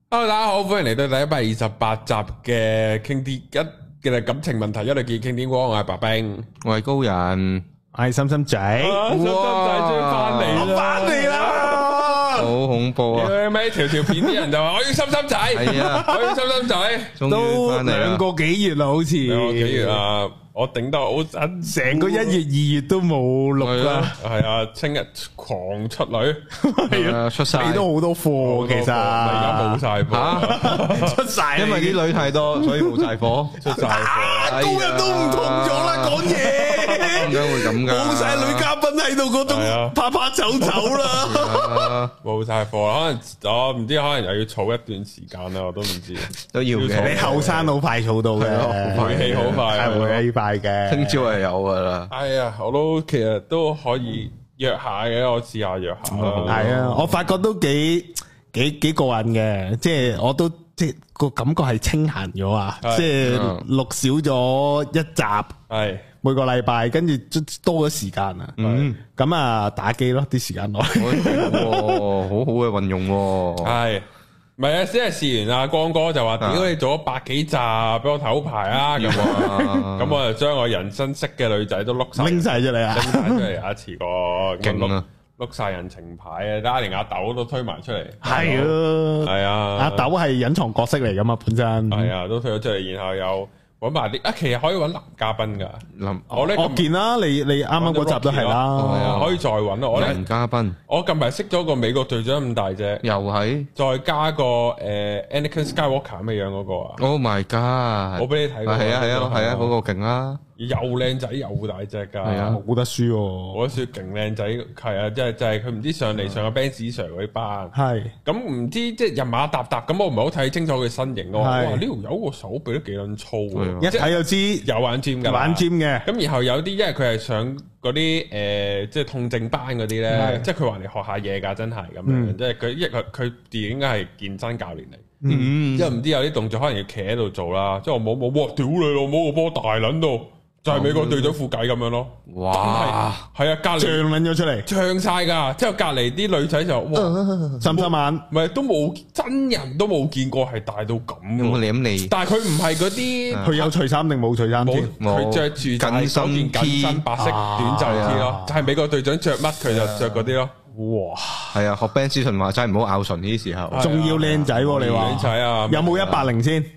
Hello，大家好，歡迎嚟到第128集嘅傾啲一嘅感情問題一律建議傾天光，我係白兵， 我係高人， 我係心心仔， 心心仔終於翻嚟啦， 好恐怖啊！ 咪條片啲人就話我要心心仔，係啊，我要心心仔， 都2個幾月啦，好似 2個幾月啊！我頂得好緊， 成個1月2月都冇錄啦， 係啊，聽日狂出女， 係啊，出晒， 你都好多貨，其實而家冇晒貨， 出晒， 因為啲女太多，所以冇晒貨， 出晒貨， 高人都唔同咗啦，講嘢， 點解會咁噶？ 冇晒女嘉賓喺度嗰種，拍拍走走啦， 冇晒貨，可能我唔知，可能又要儲一段時間啦，我都唔知， 都要嘅。 你後生好快儲到嘅， 回氣好快， 係回氣快嘅， 聽朝係有噶啦。 係啊，我都其實都可以約下嘅，我試下約下啦。 係啊，我發覺都幾過癮嘅，即係我都即係個感覺係清閒咗啊，即係錄少咗一集，係每個禮拜，跟住多咗時間啊。咁啊打機咯，啲時間內， 好好嘅運用。 係，唔係啊？先係試完阿光哥就話：屌你做咗100幾集，俾我頭牌啊！咁我就將我人生識嘅女仔都拎晒出嚟啊！拎晒出嚟一次過， 勁啊！ 碌晒人情牌啊！大家連阿豆都推埋出嚟， 係啊，係啊，阿豆係隱藏角色嚟噶嘛，本身係啊，都推咗出嚟，然後又搵埋啲其實可以搵男嘉賓噶。我見啦，你啱啱嗰集都係啦，可以再搵咯。 男嘉賓， 我近排識咗個美國隊長咁大隻， 又係再加個Anakin Skywalker 咁嘅樣嗰個啊 ！Oh my god！ 我俾你睇過， 係啊，嗰個勁啦。 又靚仔又大隻噶， 係啊，冇得輸喎！ 我覺得勁靚仔，係啊，即係佢唔知上嚟上個 Benz Sir 嗰啲班，係咁唔知即係人馬搭搭咁，我唔係好睇清楚佢身形咯。哇！呢條友個手臂都幾撚粗， 一睇就知有玩 gym 噶，玩 gym 嘅。咁然後有啲因為佢係上嗰啲即係痛症班嗰啲咧，即係佢話嚟學下嘢㗎，真係咁樣。即係佢應該係健身教練嚟，即係唔知有啲動作可能要企喺度做啦。即係我冇，哇！屌你老母個波大撚到〜就係美國隊長副計咁樣咯，哇！係啊，隔籬脹撚咗出嚟， 脹晒噶。之後隔籬啲女仔就哇， 深深眼， 唔係都冇真人都冇見過係大到咁。 有冇舐你？ 但係佢唔係嗰啲， 佢有除衫定冇除衫？ 佢着住緊身白色短袖 T 咯，就係美國隊長着乜佢就着嗰啲咯。哇！ 係啊，學 Ben 思順話真係唔好咬唇呢啲時候， 仲要靚仔喎！你話靚仔啊？ 有冇180先？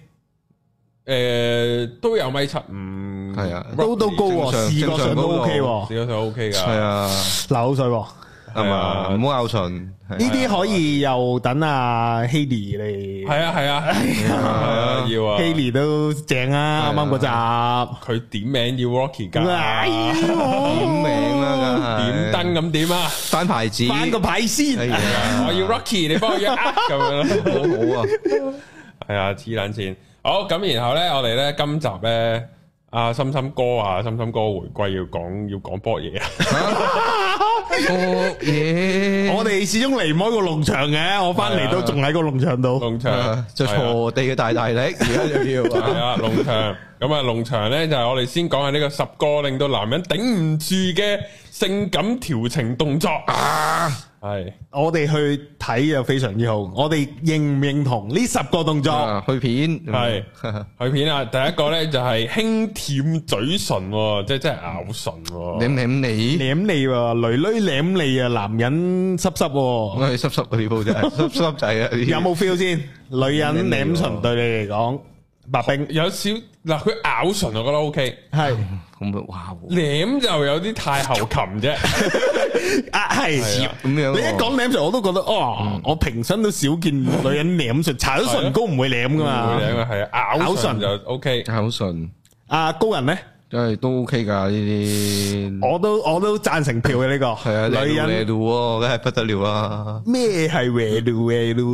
都有1.75米， 係啊， 都高喎，視覺上都 OK 喎， 視覺上 OK 噶，係啊， 流口水喎， 係嘛，唔好咬唇， 呢啲可以又等阿 Haley 嚟， 係啊，要啊 ，Haley 都正啊，啱啱嗰集， 佢點名要 Rocky 噶， 點名啦， 點燈咁點啊， 翻牌子， 翻個牌先， 我要 Rocky，你幫我約咁樣好啊， 係啊，黐撚線。好咁，然後咧，我哋咧今集咧，阿心心哥回歸要講波嘢啊！ 波嘢， 我哋始終離唔開個農場嘅，我翻嚟都仲喺個農場度。 農場就鋤地嘅大力，而家就要係啊，農場咁啊，農場咧就係我哋先講下呢個10個令到男人頂唔住嘅性感調情動作啊！係我哋去睇就非常之好，我哋認唔認同呢10個動作？ 去片係去片啊！第一個咧就係輕舔嘴唇，即係真係咬唇， 舐你， 舐你，女舐你啊！男人濕濕， 我係濕濕嗰啲鋪啫，濕仔啊！ 有冇 feel 先？女人舐唇對你嚟講，白兵有少嗱，佢咬唇我覺得 OK，係咁哇， 舐就有啲太后擒啫。 啊，係咁樣。你一講舐唇，我都覺得我平生都少見女人舐唇，搽咗唇膏唔會舐噶嘛。 唔會舐啊，係啊，咬唇就 OK， 咬唇。 阿高人咧？ 真係都 OK 噶呢啲， 我都贊成票嘅呢個。係啊，女人嚟路，梗係不得了啦。 咩係嚟路？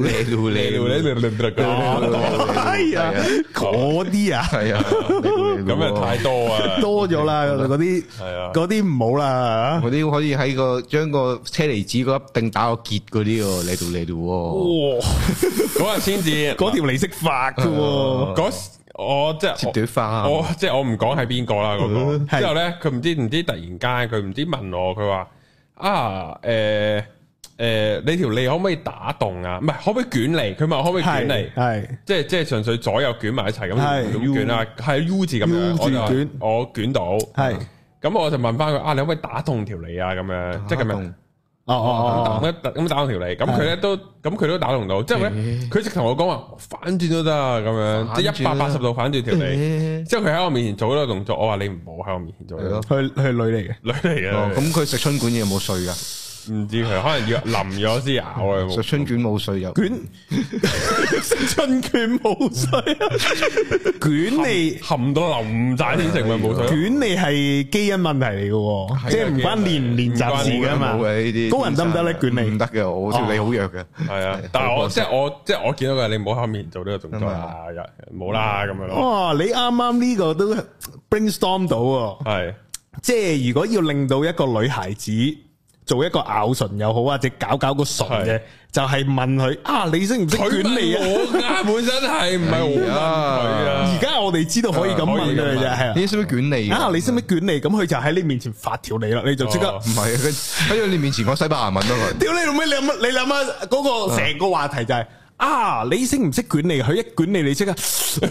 係啊，嗰啲啊， 係啊， 咁啊太多啊， 多咗啦，嗰啲係啊，嗰啲唔好啦。 嗰啲可以喺個將個車厘子嗰一定打個結嗰啲嚟到。哇， 嗰日先至嗰條嚟識發噶。 我即係短髮， 我即係我唔講係邊個啦嗰個。之後咧，佢唔知突然間佢唔知問我，佢話你條脷可唔可以打洞啊？唔係，可唔可以捲脷？佢問我可唔可以捲脷？係，即係純粹左右捲埋一齊咁捲啊，係 U 字咁樣，我捲到。係，咁我就問翻佢啊，你可唔可以打洞條脷啊？咁樣，即係咁樣。咁打洞條脷，咁佢咧都，咁佢都打洞到。之後咧，佢直同我講話反轉都得咁樣，即係180度反轉條脷。之後佢喺我面前做嗰個動作，我話你唔好喺我面前做。 佢女嚟嘅， 女嚟嘅。 咁佢食春卷有冇碎噶？ 唔知佢可能要淋咗先咬啊！ 食春卷冇碎又卷，食春卷冇碎啊！卷你含到淋晒先食咪冇碎。 卷你係基因問題嚟嘅，即係唔關練唔練習事噶嘛。高人得唔得咧？卷你唔得嘅，我條脷好弱嘅。 係啊，但係我即係我見到佢，你唔好喺面做呢個動作啊！冇啦咁樣咯。 哇！你啱啱呢個都 brainstorm 到喎。係，即係如果要令到一個女孩子做一個咬唇又好，或者搞個唇嘅，就係問佢啊，你識唔識捲脷啊？ 我本身係唔係我問佢啊？ 而家我哋知道可以咁問佢啫，係啊。 你識唔識捲脷啊？ 你識唔識捲脷？咁佢就喺你面前發條脷啦，你就即刻唔係啊？佢喺你面前講西班牙文啊佢。屌你老味，你諗下嗰個成個話題就係啊，你識唔識捲脷？佢一捲脷，你即刻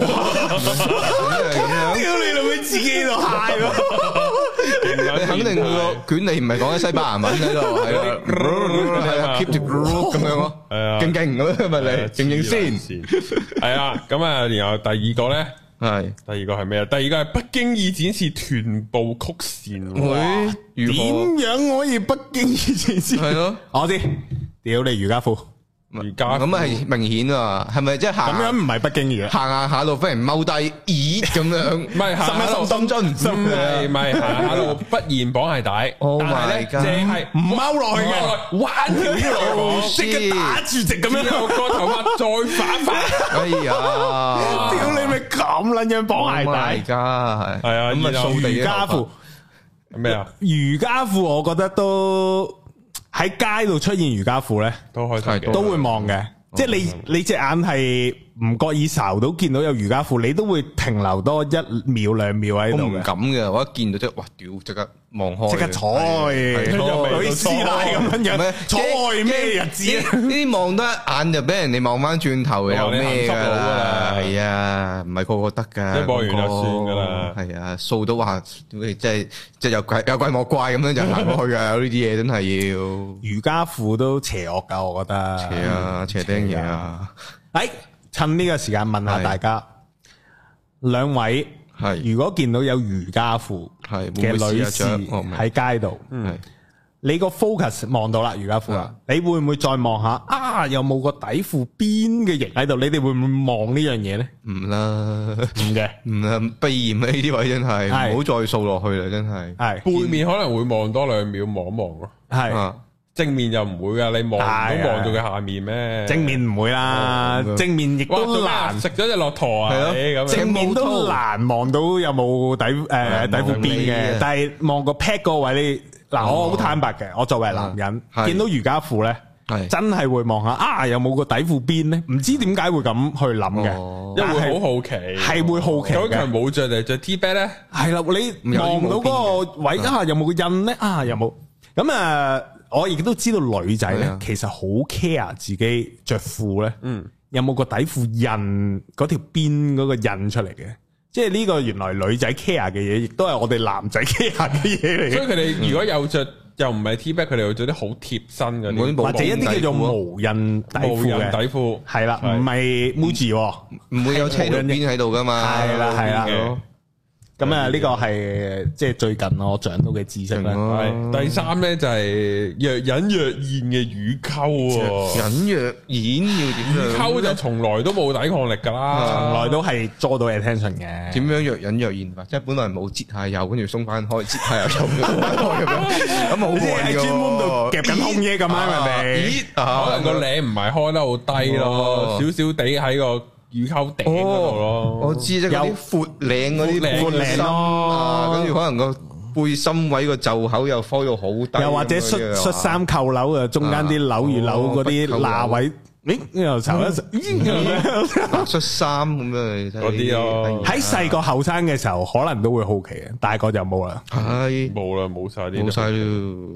屌你老味，自己度嗨咯。 你肯定佢個捲脷唔係講緊西班牙文喺度，係啊 keep the groove 咁樣咯，係啊，勁勁咁咪嚟，勁先， 係啊，咁啊，然後第二個咧，第二個係咩啊？第二個係不經意展示臀部曲線， 點樣可以不經意展示？係咯，我知，屌你瑜伽褲。 瑜伽咁係明顯啊，係咪即係行？ 咁樣唔係不經意嘅， 行下路忽然踎低，咦咁樣？ 唔係行下路深蹲，唔係行下路忽然綁鞋帶，但係咧淨係唔踎落去嘅，彎條腰落去，即刻打住直咁樣，個頭髮再反翻。 哎呀！ 屌你咪咁撚樣綁鞋帶？ 而家係啊， 咁啊，瑜伽褲咩啊？ 瑜伽褲我覺得都。喺街度出現瑜伽褲咧， 都開心嘅， 都會望嘅。即係你隻眼係唔覺意睄到見到有瑜伽褲，你都會停留多1秒2秒喺度嘅。 我唔敢嘅，我一見到即係哇屌，即刻望開， 即刻坐，女師奶咁樣，坐咩日子？ 呢啲望得一眼就俾人哋望翻轉頭，有咩噶啦？係啊，唔係個個得噶， 一望完就算噶啦。 係啊，掃到話即係有怪莫怪咁樣就行過去噶，有呢啲嘢真係要。 瑜伽褲都邪惡噶，我覺得。 邪啊，邪釘嘢啊！ 誒，趁呢個時間問下大家，兩位係如果見到有瑜伽褲嘅女士喺街度，你個 focus 望到啦瑜伽褲啦，你會唔會再望下啊？有冇個底褲邊嘅形喺度？你哋會唔會望呢樣嘢咧？ 唔啦， 唔嘅， 唔啦，避嫌啊！呢啲位真係唔好再掃落去啦，真係。係背面可能會望多2秒，望一望咯。係。正面就唔會噶，你望都望到佢下面咩？ 正面唔會啦，正面亦都難食咗隻駱駝啊！咁正面都難望到有冇底褲邊嘅，但係望個 pad 個位你嗱，我好坦白嘅，我作為男人見到瑜伽褲咧，真係會望下啊，有冇個底褲邊咧？唔知點解會咁去諗嘅， 因為會好好奇， 係會好奇嘅。 咁佢冇着定着 T back 咧？係啦， 你望到嗰個位啊，有冇個印咧？啊，有冇？咁啊？我亦都知道女仔咧，其實好 care 自己着褲咧，有冇個底褲印嗰條邊嗰個印出嚟嘅？即係呢個原來女仔 care 嘅嘢，亦都係我哋男仔 care 嘅嘢嚟嘅。所以佢哋如果有着又唔係 T back，佢哋會着啲好貼身嘅， 或者一啲叫做無印底褲嘅底褲，係啦，唔係 Muji， 唔會有車輪邊喺度噶嘛， 係啦。咁啊，呢個係即係最近我長到嘅知識啦。 第三咧就係若隱若現嘅乳溝。 若隱若現要點樣？ 乳溝就從來都冇抵抗力噶啦， 從來都係捉到 attention 嘅。 點樣若隱若現法？即係本來冇擠下油，跟住鬆翻開，擠下油鬆翻開咁樣。咁好過癮喺專門度夾緊空嘢咁樣，係咪？ 可能個領唔係開得好低咯，少少地喺個乳溝頂嗰度咯， 我知即係有闊領嗰啲闊領咯，跟住可能個背心位個袖口又開到好低， 又或者恤衫扣鈕啊，中間啲紐與紐嗰啲罅位，又巢一白恤衫咁樣嗰啲咯。 喺細個後生嘅時候，可能都會好奇嘅，大個就冇啦， 係冇啦，冇晒啲， 冇晒咯。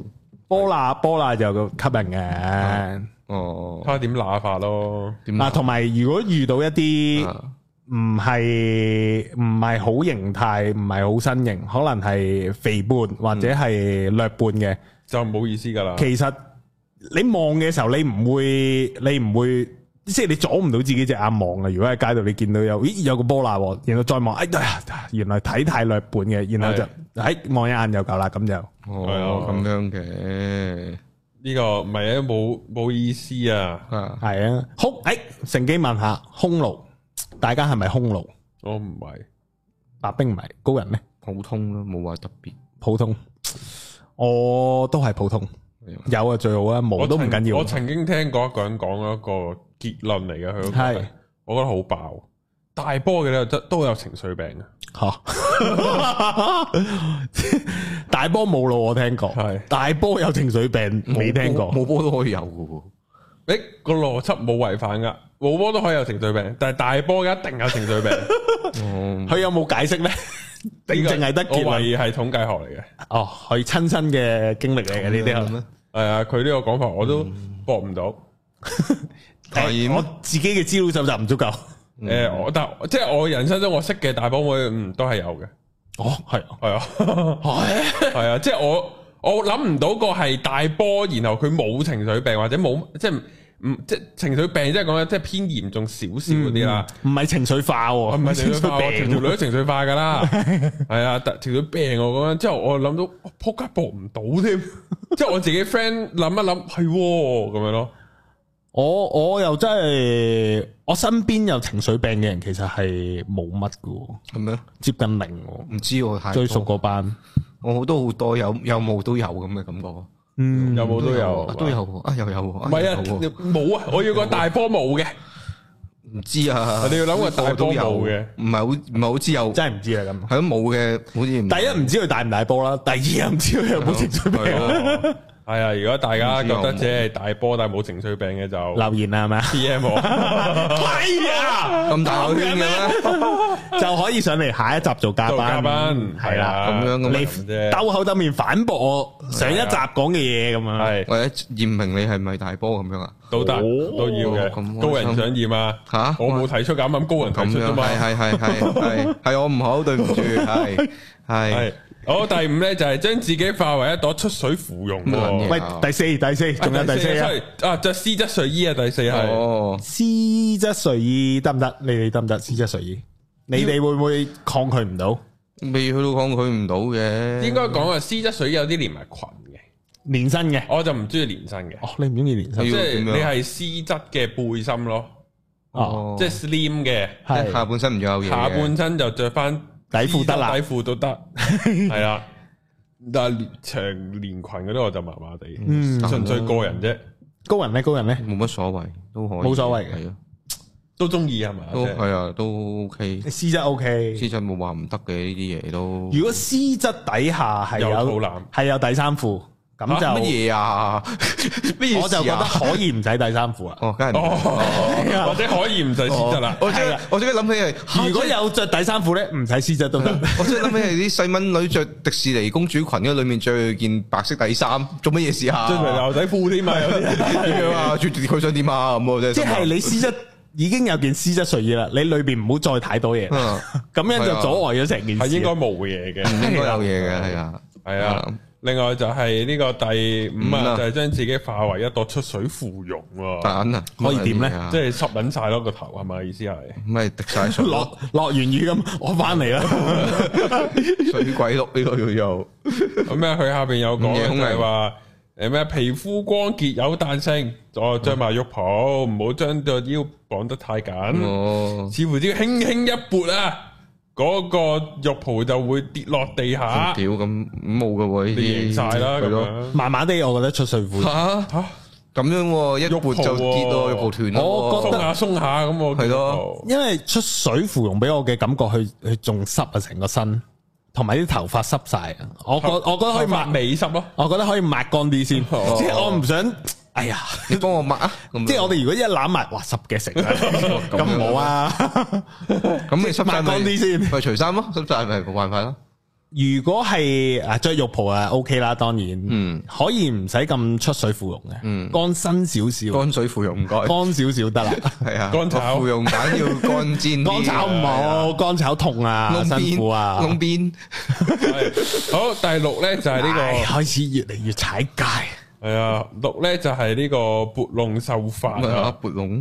波乸就吸引嘅。 哦，睇下點乸法咯。 嗱，同埋如果遇到一啲唔係好形態，唔係好身形，可能係肥胖或者係略胖嘅， 就冇意思噶啦。 其實你望嘅時候，你唔會。即係你阻唔到自己隻眼望啊！如果喺街度你見到有個波乸，然後再望，哎呀，原來體態略胖嘅，然後就望一眼就夠啦，咁就咁樣嘅呢個唔係啊，冇意思啊， 係啊，乘機問下匈奴，大家係咪匈奴？ 我唔係， 白兵唔係，高人咩？ 普通咯，冇話特別， 普通，我都係普通，有啊最好啊，冇都唔緊要。 我曾經聽過一個人講一個結論嚟嘅，佢係我覺得好爆，大波嘅咧都有情緒病嘅吓，大波冇咯，我聽過，係大波有情緒病未聽過， 冇波都可以有嘅， 誒個邏輯冇違反噶，冇波都可以有情緒病，但係大波一定有情緒病， 佢有冇解釋咧？定淨係得結論？ 我懷疑係統計學嚟嘅， 哦，佢親身嘅經歷嚟嘅呢啲係咩？ 係啊，佢呢個講法我都駁唔到。 我自己嘅資料搜集唔足夠。 但即係我人生中我識嘅大波妹，都係有嘅。 哦，係啊， 係啊，即係我諗唔到個係大波，然後佢冇情緒病或者冇即係即情緒病，即係講即係偏嚴重少少嗰啲啦。唔係情緒化，唔係情緒化， 條女都情緒化噶啦。係啊，情緒病我講之後，我諗到扑街搏唔到添，即係我自己 friend 諗一諗係咁樣咯。 我又真係，我身邊有情緒病嘅人其實係冇乜㗎， 係咩？ 接近零， 唔知我最熟嗰班， 我都好多有冇都有咁嘅感覺， 有冇都有， 都有啊，又有，唔係啊，冇啊，我要個大波冇嘅， 唔知啊， 你要諗個大波冇嘅， 唔係好知有， 真係唔知啊咁， 係都冇嘅，好似第一唔知佢大唔大波啦，第二又唔知佢有冇情緒病。 係啊，如果大家覺得只係大波但係冇情緒病嘅就留言啦，係咪 PM 我係啊， 咁大個圈嘅咩？ 就可以上嚟下一集做嘉賓，係啦， 咁樣你兜口兜面反駁我上一集講嘅嘢咁樣，係或者驗明你係咪大波咁樣啊？ 都得，都要嘅。高人想驗啊？吓，我冇提出咁高人提出啫嘛。 係我唔好，對唔住，係。 好，第五咧就係將自己化為一朵出水芙蓉。 喂，第四，仲有第四啊！着絲質睡衣啊，第四係絲質睡衣得唔得？你哋得唔得？絲質睡衣，你哋會唔會抗拒唔到？ 未去到抗拒唔到嘅， 應該講啊，絲質睡衣有啲連埋裙嘅， 連身嘅， 我就唔中意連身嘅。 哦，你唔中意連身， 即係你係絲質嘅背心咯。哦，即係 slim 嘅， 即係下半身唔有嘢， 下半身就着翻。 底褲得啦， 底褲都得，係啦。但係長連裙嗰啲我就麻麻地，純粹個人啫。 高人咧， 冇乜所謂，都可以， 冇所謂嘅， 係啊， 都中意係嘛？ 都係啊，都 OK。 絲質 OK，絲質冇話唔得嘅呢啲嘢都。 如果絲質底下係有底衫褲。咁就乜嘢啊？乜嘢？ 我就覺得可以唔使底衫褲啊！ 哦，梗係或者可以唔使絲質啦。 我即刻諗起係， 如果有着底衫褲咧，唔使絲質都得。 我即刻諗起係啲細蚊女着迪士尼公主裙嗰裏面着件白色底衫，做乜嘢事啊？ 着埋牛仔褲添嘛？有啲點樣啊？佢想點啊？咁我真係即係你絲質已經有件絲質睡衣啦，你裏邊唔好再太多嘢，咁樣就阻礙咗成件事。 係應該冇嘢嘅， 應該有嘢嘅，係啊， 係啊。另外就係呢個第五啊，就係將自己化為一朵出水芙蓉喎。 可以點咧？ 即係濕撚晒咯個頭，係咪意思係？ 唔係滴晒水， 落完雨咁，我翻嚟啦。 水鬼碌呢個叫做咁咩？佢下邊有講嘅就係話咩？皮膚光潔有彈性，再着埋浴袍，唔好將個腰綁得太緊。似乎只要輕輕一撥啊，嗰個浴袍就會跌落地下。 屌咁冇噶喎，呢啲晒啦咁樣。 麻麻地，我覺得出水褲吓咁樣，一撥就跌咯，浴袍斷咯。 我覺得鬆下咁，我係咯。 因為出水芙蓉俾我嘅感覺，佢仲濕啊，成個身，同埋啲頭髮濕晒。我覺得可以抹尾濕咯。 我覺得可以抹乾啲先，即係我唔想。哎呀， 你幫我抹啊！ 即係我哋如果一攬埋，哇，濕嘅成咁冇啊！ 咁你濕晒抹乾啲先， 咪除衫咯，濕晒咪冇辦法咯。 如果係着浴袍啊 OK 啦，當然，可以唔使咁出水芙蓉嘅，乾身少少， 乾水芙蓉唔該， 乾少少得啦，係啊， 乾炒芙蓉蛋要乾煎， 乾炒唔好，乾炒痛啊，辛苦啊， 窿邊。 好，第6咧就係呢個開始越嚟越踩界， 係啊，6咧就係呢個撥弄秀髮啊， 撥弄。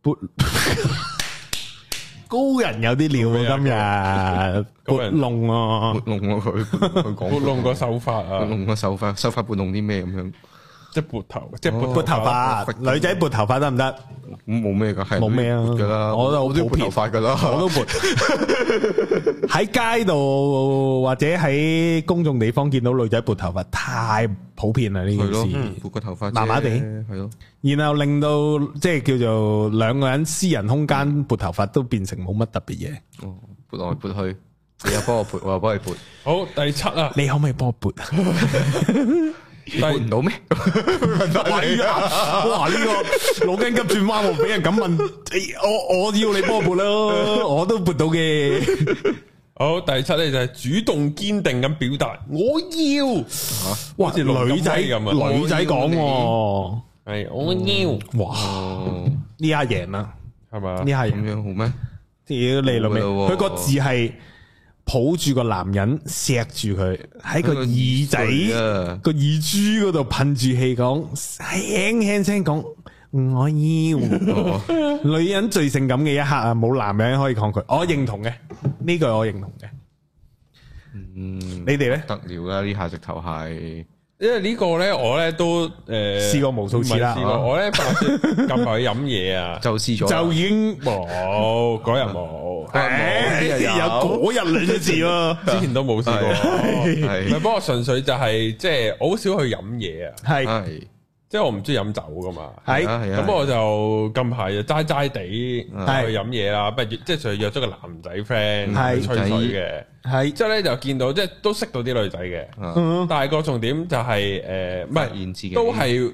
高人有啲料啊，今日撥弄啊， 撥弄啊佢講撥弄個秀髮啊， 撥弄個秀髮撥弄啲咩咁樣？ 即係撥頭，即係撥頭髮，女仔撥頭髮得唔得？ 冇咩噶，係冇咩啊噶啦，我都撥頭髮噶啦， 我都撥。喺街度或者喺公眾地方見到女仔撥頭髮，太普遍啦呢件事。 撥個頭髮， 麻麻地係咯。 然後令到即係叫做兩個人私人空間撥頭髮都變成冇乜特別嘢。 哦，撥來撥去，你又幫我撥，我又幫你撥。 好，第7啊， 你可唔可以幫我撥？ 撥唔到咩？ 係啊！哇！呢個腦筋急轉彎，我俾人咁問，我要你幫我撥咯，我都撥到嘅。 好，第7咧就係主動堅定咁表達我要。 哇！女仔咁啊，女仔講係我要。 哇！呢下贏啦， 係嘛？ 呢下贏咁樣好咩？ 屌你老味，佢個字係。抱住個男人錫住佢喺個耳仔個耳珠嗰度噴住氣講，輕輕聲講我要。女人最性感嘅一刻啊，冇男人可以抗拒。我認同嘅呢句，我認同嘅。你哋咧？得了啦，呢下直頭係。 因為呢個咧，我咧都試過無數次啦。 我咧近排去飲嘢啊， 就試咗， 就已經冇嗰日冇。有嗰日兩隻字咯， 之前都冇試過。係，不過純粹就係即係我好少去飲嘢啊。係。即係我唔中意飲酒噶嘛，係咁我就近排就齋齋地去飲嘢啦，不如即係就約咗個男仔 friend 去吹水嘅，係之後咧就見到即係都識到啲女仔嘅，但係個重點就係唔係都係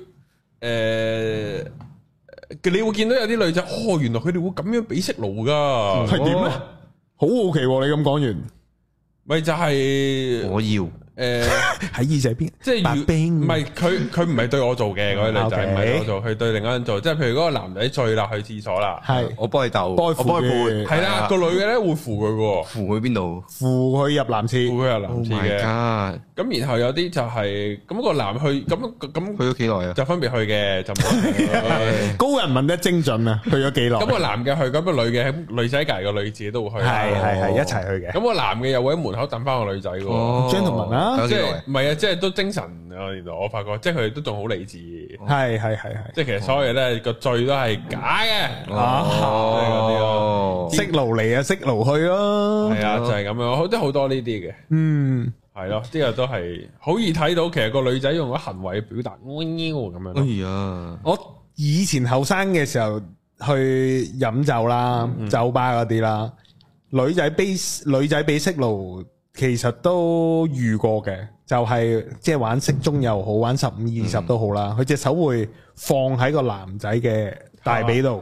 你會見到有啲女仔，哦原來佢哋會咁樣俾息路噶， 係點咧？好好奇你咁講完， 咪就係我要。 喺耳仔邊， 即係唔係佢唔係對我做嘅嗰啲女仔，唔係對我做，佢對另一個人做。即係譬如嗰個男仔醉啦，去廁所啦，係我幫你逗， 我幫你扶， 係啦，個女嘅咧會扶佢嘅， 扶佢邊度？ 扶佢入男廁， 扶佢入男廁嘅。咁然後有啲就係咁個男去咁去咗幾耐啊？ 就分別去嘅，就冇。 高人問得精準啊！去咗幾耐？ 咁個男嘅去，咁個女嘅女仔隔個女自己都會去， 係一齊去嘅。咁個男嘅又會喺門口等翻個女仔嘅 ，gentleman 啦。 即係唔係啊？即係都精神啊！原來我發覺，即係佢哋都仲好理智。 係， 即係其實所有嘢咧個罪都係假嘅。 識路嚟啊，識路去咯。 係啊，就係咁樣，即係好多呢啲嘅。係咯，呢個都係好易睇到。其實個女仔用咗行為表達咁樣。 哎呀， 我以前後生嘅時候去飲酒啦，酒吧嗰啲啦，女仔俾識路。其實都遇過嘅，就係即係玩骰盅又好，玩15、20都好啦。佢隻手會放喺個男仔嘅大髀度，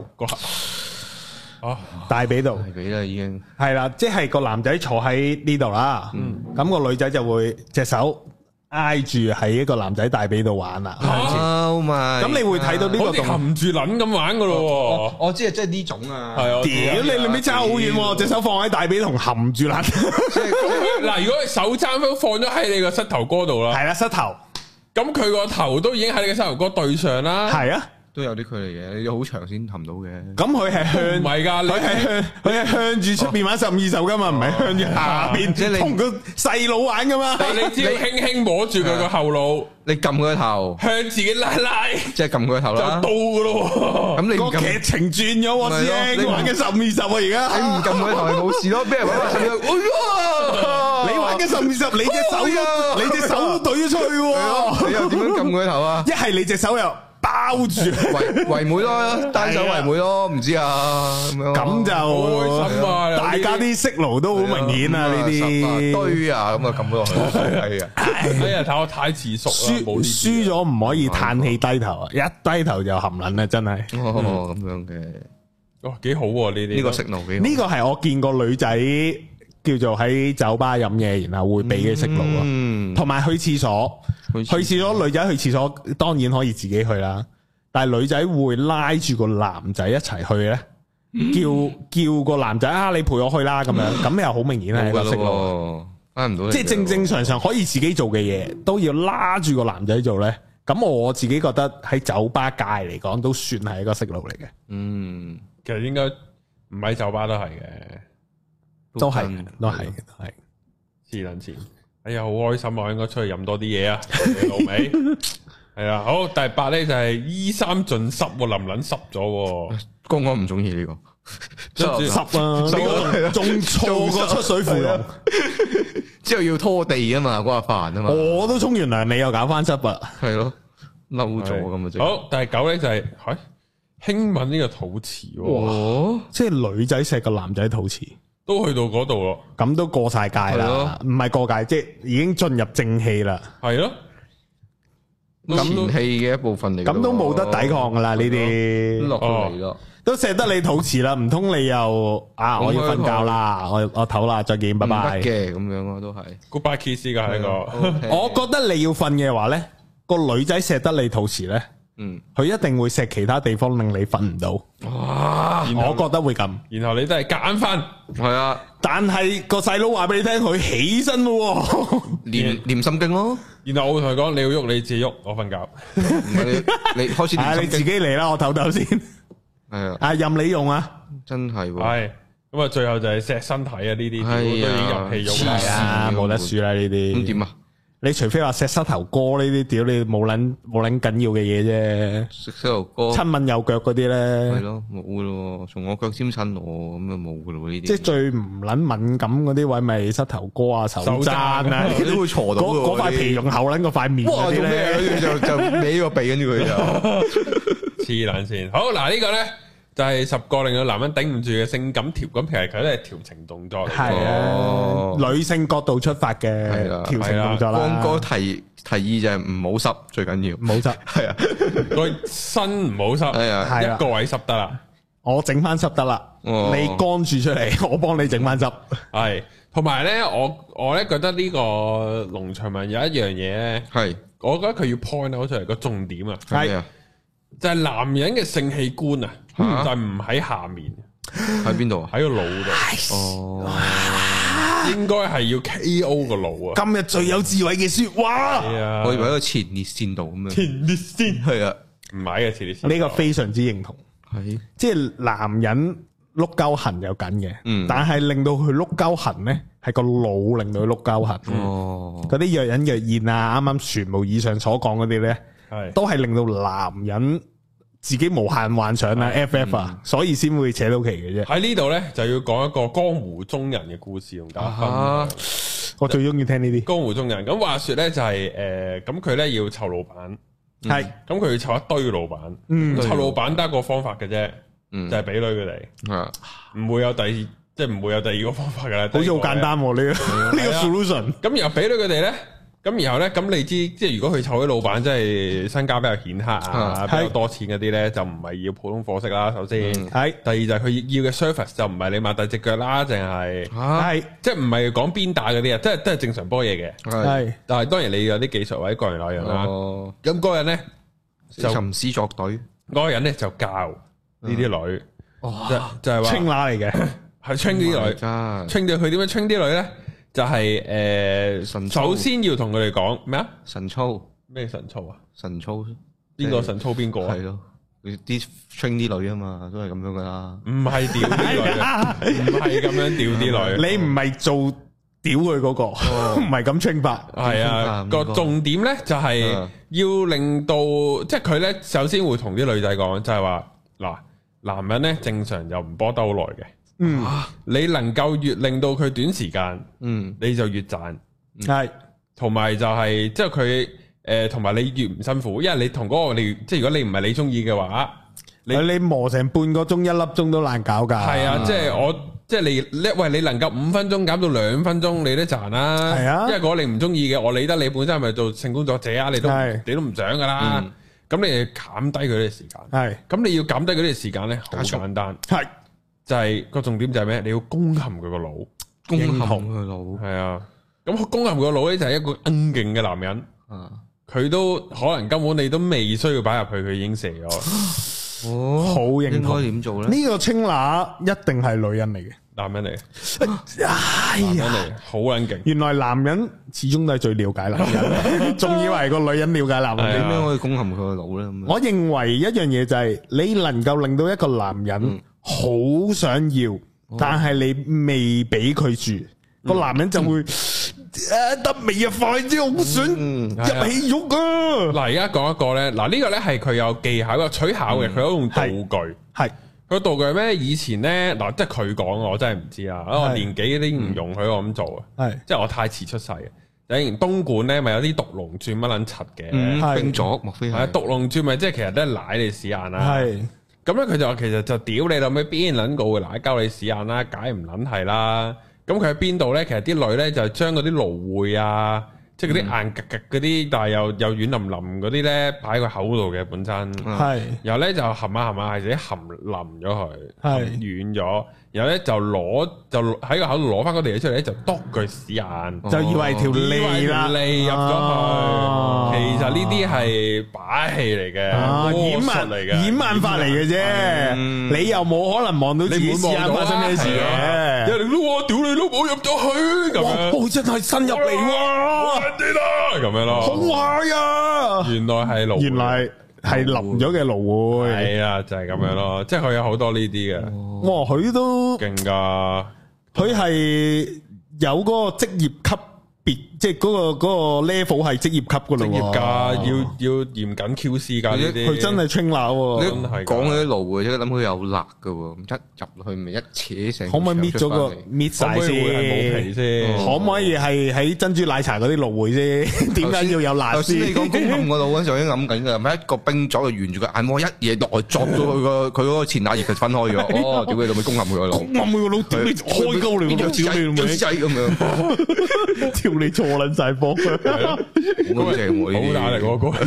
大髀度，大髀啦已經係啦，即係個男仔坐喺呢度啦，咁個女仔就會隻手挨住喺一個男仔大髀度玩啦。咁你會睇到呢個動含住撚咁玩噶咯？ 我知啊，即係呢種啊。 係啊，屌你咪差好遠，隻手放喺大髀同含住撚。 嗱，如果佢手踭都放咗喺你個膝頭哥度啦， 係啦，膝頭。咁佢個頭都已經喺你個膝頭哥對上啦。 係啊。 都有啲距離嘅，你要好長先含到嘅。 咁佢係向唔係㗎， 佢係向住出邊玩15、20㗎嘛，唔係向住下邊，即係你同個細佬玩㗎嘛。 你只要輕輕摸住佢個後腦， 你撳佢個頭， 向自己拉，即係撳佢個頭啦， 就到㗎咯。 咁你個劇情轉咗喎，師兄，你玩緊15、20啊，而家你唔撳佢頭係冇事咯，俾人玩15、20， 你玩緊15、20，你隻手都懟咗出去喎， 你又點樣撳佢個頭啊？ 一係你隻手又包住圍妹咯，單手圍妹咯，唔知啊咁就開心啊！大家啲色奴都好明顯啊，呢啲堆啊，咁啊撳咗落去，係啊！ 哎呀，睇我太遲熟啦， 輸咗唔可以嘆氣低頭啊！一低頭就含撚啊，真係咁樣嘅， 哇，幾好呢啲呢個色奴幾好？ 呢個係我見過女仔叫做喺酒吧飲嘢，然後會俾佢識路啊。同埋去廁所，女仔去廁所當然可以自己去啦，但係女仔會拉住個男仔一齊去咧，叫個男仔啊，你陪我去啦咁樣，咁又好明顯係一個識路。翻唔到，即係正常可以自己做嘅嘢，都要拉住個男仔做咧。咁我自己覺得喺酒吧界嚟講，都算係一個識路嚟嘅。 其實應該唔喺酒吧都係嘅， 都係。 黐撚線，哎呀，好開心啊！應該出去飲多啲嘢啊，老味。係啊，好，第8咧就係衣衫盡濕，淋撚濕咗。 公安唔中意呢個。 濕啊！仲錯過出水芙蓉， 之後要拖地啊嘛，嗰下煩啊嘛。 我都沖完涼，你又搞翻濕啊？ 係咯，嬲咗咁啊！即好，第9咧就係輕吻呢個肚臍。 哇！即係女仔錫個男仔肚臍， 都去到嗰度咯。 咁都過晒界啦，唔係過界，即係已經進入正氣啦。 係咯， 前戲嘅一部分嚟。 咁都冇得抵抗噶啦，呢啲落嚟咯。 都錫得你肚臍啦，唔通你又我要瞓覺啦，我唞啦，再見，拜拜嘅咁樣咯，都係 goodbye kiss 噶呢個。 我覺得你要瞓嘅話咧，個女仔錫得你肚臍咧，佢一定會錫其他地方令你瞓唔到。 哇！ 我覺得會咁， 然後你都係夾硬瞓， 係啊。但係個細佬話俾你聽，佢起身咯， 念心經咯。 然後我會同佢講，你要喐你自己喐，我瞓覺。 你開始你自己嚟啦，我唞先。係啊，任你用啊， 真係係咁啊！最後就係錫身體啊，呢啲都已經入戲肉啦，冇得輸啦呢啲。 咁點啊？你除非話錫膝頭哥呢啲，屌你冇撚緊要嘅嘢啫。 錫膝頭哥、 親吻右腳嗰啲咧， 係咯，冇噶咯，從我腳尖親我咁啊冇噶咯呢啲。 即係最唔撚敏感嗰啲位，咪膝頭哥啊、手踭啊， 都會挫到。 嗰塊皮用厚撚個塊面嗰啲咧， 跟住就歪個鼻，跟住佢就黐撚線。好嗱，呢個咧。就係10個令到男人頂唔住嘅性感調，咁其實佢都係調情動作嚟嘅。 係啊，女性角度出發嘅調情動作啦。 光哥提議就係唔好濕，最緊要。唔好濕，係啊， 個身唔好濕，係啊，一個位濕得啦。 我整翻濕得啦，你乾住出嚟，我幫你整翻濕。 係，同埋咧，我咧覺得呢個農場文有一樣嘢咧，係，我覺得佢要 point out 出嚟個重點啊，係啊，就係男人嘅性器官啊。就唔喺下面， 喺邊度啊？ 喺個腦度。哦，應該係要 KO 個腦啊！ 今日最有智慧嘅說話， 我以為喺個前列腺度咁樣。 前列腺係啊，唔係嘅前列腺。 呢個非常之認同，係即係男人碌鳩痕有緊嘅，但係令到佢碌鳩痕咧，係個腦令到佢碌鳩痕。哦，嗰啲若隱若現啊，啱啱全部以上所講嗰啲咧，係都係令到男人自己無限幻想啦，FF 啊，所以先會扯到旗嘅啫。喺呢度咧就要講一個江湖中人嘅故事同大家分享。我最中意聽呢啲江湖中人。咁話說咧就係咁佢咧要湊老闆，係咁佢要湊一堆老闆，湊老闆得一個方法嘅啫，就係俾女佢哋，唔會有即係唔會有第二個方法噶啦。好似好簡單呢個 solution。咁然後俾女佢哋咧。咁然後咧，咁你知，即係如果佢湊啲老闆，即係身家比較顯赫啊，比較多錢嗰啲咧，就唔係要普通貨色啦。首先，係第二就係佢要嘅 service 就唔係你擘大隻腳啦，淨係即係唔係講鞭打嗰啲啊，即係都係正常波嘢嘅。係，但係當然你有啲技術或者個人那樣啦。咁嗰個人咧就吟詩作對，嗰個人咧就教呢啲女，就係話青乸嚟嘅，係 train 啲女，train 到佢點樣 train 啲女咧？就係首先要同佢哋講咩啊？神操咩神操啊？神操邊個神操邊個啊？係咯，啲 train 啲女啊嘛，都係咁樣噶啦。唔係屌啲女，唔係咁樣屌啲女。你唔係做屌佢嗰個，唔係咁 train 法。係啊，個重點咧就係要令到，即係佢咧首先會同啲女仔講，就係話嗱，男人咧正常又唔波得好耐嘅。你能夠越令到佢短時間，你就越賺，係，同埋就係即係佢同埋你越唔辛苦，因為你同嗰個你即係如果你唔係你中意嘅話，你磨成半個鐘1粒鐘都難搞噶。係啊，即係即係你能夠5分鐘減到2分鐘，你都賺啦。係啊，因為如果你唔中意嘅，我理得你本身係咪做性工作者啊？你都唔想噶啦。咁你減低佢哋時間，係，咁你要減低佢哋時間咧，好簡單，係。就係個重點就係咩？你要攻陷佢個腦， 攻陷佢個腦， 係啊。咁攻陷佢個腦咧就係一個勁嘅男人，佢都可能根本你都未需要擺入去，佢已經射咗。 哦，好認同。 應該點做咧？ 呢個青乸一定係女人嚟嘅， 男人嚟。哎呀，好撚勁！ 原來男人始終都係最了解男人，仲以為個女人了解男人。 點樣可以攻陷佢個腦咧？ 我認為一樣嘢就係你能夠令到一個男人好想要，但係你未俾佢住，個男人就會。得未啊？快啲，我想入戲肉啊！ 嗱，而家講一個咧，嗱呢個咧係佢有技巧嘅取巧嘅，佢有用道具。係個道具係咩？以前咧嗱，即係佢講，我真係唔知啊！我年紀已經唔容許我咁做啊！係即係我太遲出世嘅。以前東莞咧咪有啲毒龍鑽乜撚柒嘅冰鑿，莫非係毒龍鑽咪即係其實都係舐你屎眼啦。係咁咧，佢就話其實就屌你老味，邊撚個會舐鳩你屎眼啦？解唔撚係啦！咁佢喺邊度咧？其實啲女咧就將嗰啲蘆薈啊，即係嗰啲硬格格嗰啲，但係又軟腍腍嗰啲咧，擺喺個口度嘅本身。係，然後咧就含下係自己含腍咗佢，係軟咗。然後咧就喺個口度攞翻嗰啲嘢出嚟咧，就篤佢屎眼， 就以為條脷啦， 脷入咗去。其實呢啲係把戲嚟嘅， 掩眼法嚟嘅啫。你又冇可能望到自己屎眼發生咩事嘅。 有人都話屌你老母入咗去咁樣， 哇！真係伸入嚟喎， 咁樣咯， 好壞啊！ 原來係蘆，原來係淋咗嘅蘆薈， 係啊，就係咁樣咯。即係佢有好多呢啲嘅， 哇！佢都勁噶， 佢係有嗰個職業級別，即係嗰個 level 係職業級噶咯， 職業噶，要嚴謹 QC 噶呢啲， 佢真係清鬧喎。 真係講嗰啲蘆薈，即係諗佢有辣噶，一入去咪一扯成。 可唔可以搣咗個搣晒先？ 冇皮先？ 可唔可以係喺珍珠奶茶嗰啲蘆薈先？點解要有辣先？ 頭先你講攻陷個腦嗰陣時，我已經諗緊噶，咪一個冰鑿就沿住個眼窩一嘢落去，鑿到佢嗰個前額葉，佢分開咗。哦，屌你老味，攻陷佢個腦， 攻陷佢個腦，屌你開鳩你，屌你老味， 仔咁樣， 屌你錯撚晒波， 好正喎， 好大力嗰個，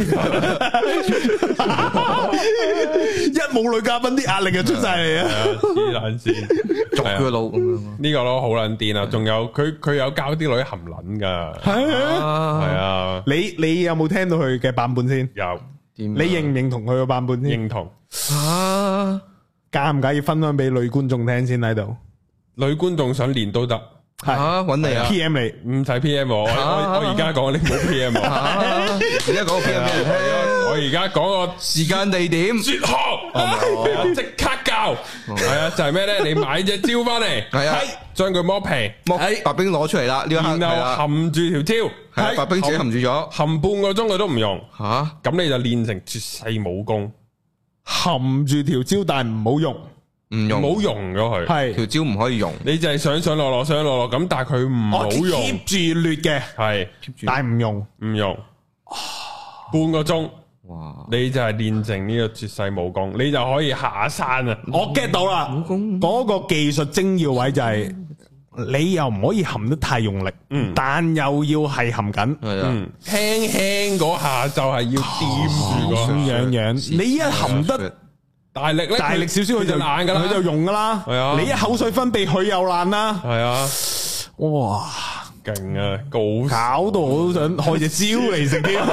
一冇女嘉賓啲壓力就出晒嚟啊！ 黐撚線， 鑿佢個腦咁樣。 呢個咯好撚癲啊！仲有佢有教啲女含撚噶，係啊！ 你有冇聽到佢嘅版本先？ 有， 你認唔認同佢個版本先？ 認同啊！介唔介意分享俾女觀眾聽先喺度？ 女觀眾想練都得。 係揾你啊 ！PM 你唔使 PM 我而家講你唔好 PM 我， 而家講個 PM 俾你聽。 我而家講個時間地點絕學，即刻教。係啊，就係咩咧？你買隻蕉翻嚟， 係啊， 將佢剝皮， 白冰攞出嚟啦。呢一刻然後含住條蕉， 係白冰自己含住咗， 含半個鐘佢都唔用。 吓， 咁你就練成絕世武功， 含住條蕉但係唔好用。 唔用， 唔好用咗佢， 係條蕉唔可以用， 你就係上落咁，但係佢唔好用 ，keep 住劣嘅， 係， 但係唔用， 半個鐘，哇，你就係練成呢個絕世武功，你就可以下山啊！ 我 get 到啦，嗰個技術精要位就係你又唔可以含得太用力，但又要係含緊，輕輕嗰下就係要掂住個樣，你一含得。大力少少佢就爛噶啦，佢就溶噶啦。係啊，你一口水分泌佢又爛啦。係啊，哇，勁啊，搞到我都想開隻蕉嚟食添。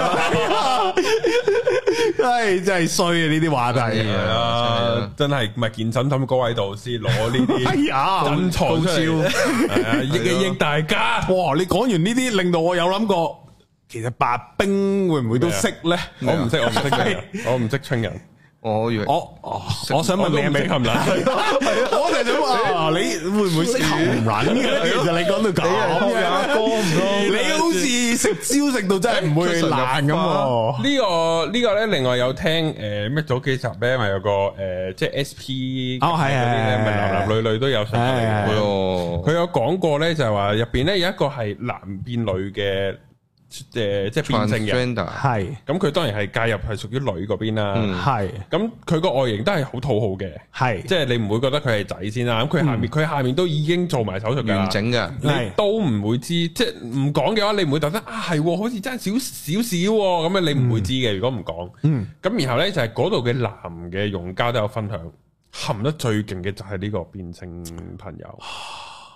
係真係衰啊！呢啲話題係啊，真係唔係健身咁高喺度先攞呢啲真材出嚟，係啊，益大家。哇！你講完呢啲，令到我有諗過，其實白冰會唔會都識咧？我唔識，我唔識春人。我以為我想問你係咪含撚？我就想話你會唔會識含撚嘅？其實你講到咁樣，哥唔多，你好似食蕉食到真係唔會爛咁。呢個咧，另外有聽咩早幾集咧，咪有個即係 SP 嗰啲咧，咪男女都有上嚟嘅。佢有講過咧，就係話入邊咧有一個係男變女嘅。即係變性嘅，係咁佢當然係介入係屬於女嗰邊啦，係咁佢個外形都係好討好嘅，係即係你唔會覺得佢係仔先啦，咁佢下面都已經做埋手術完整嘅，你都唔會知，即係唔講嘅話，你唔會覺得啊係，好似爭少咁樣，你唔會知嘅。如果唔講，咁然後咧就係嗰度嘅男嘅用家都有分享，含得最勁嘅就係呢個變性朋友。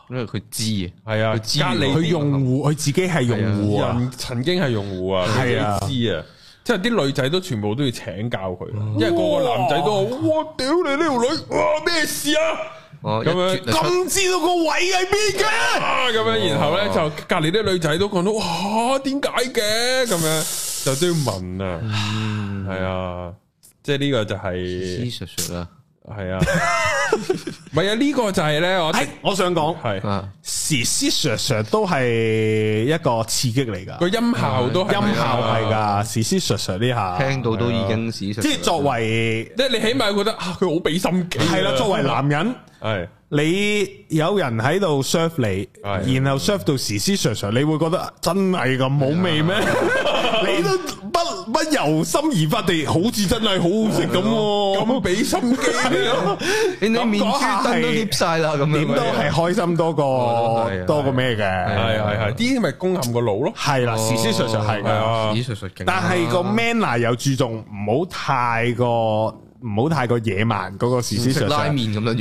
因為佢知啊， 係啊，隔離佢用戶，佢自己係用戶啊， 人曾經係用戶啊，佢知啊。即係啲女仔都全部都要請教佢，因為個個男仔都話：哇！屌你呢條女，哇咩事啊？咁樣咁知道個位喺邊嘅？ 咁樣，然後咧就隔籬啲女仔都講到：哇，點解嘅？咁樣就都要問啊。係啊，即係呢個就係史實啦。 係啊，唔係啊，呢個就係咧， 我想講係時時都係一個刺激嚟噶， 個音效都係音效係噶，時時呢下聽到都已經史實， 即係作為， 即係你起碼覺得佢好俾心機， 係啦，作為男人係。你有人喺度 serve 你，然後 serve 到時時，你會覺得真係咁冇味咩？你都不由心而發地，好似真係好好食咁，咁俾心機你面珠燈都貼晒啦，咁點都係開心多過咩嘅？ 係，啲咪攻陷個腦咯。係啦，時時係嘅， 時時勁。 但係個 manner 又注重唔好太過野蠻嗰個時時拉麵咁樣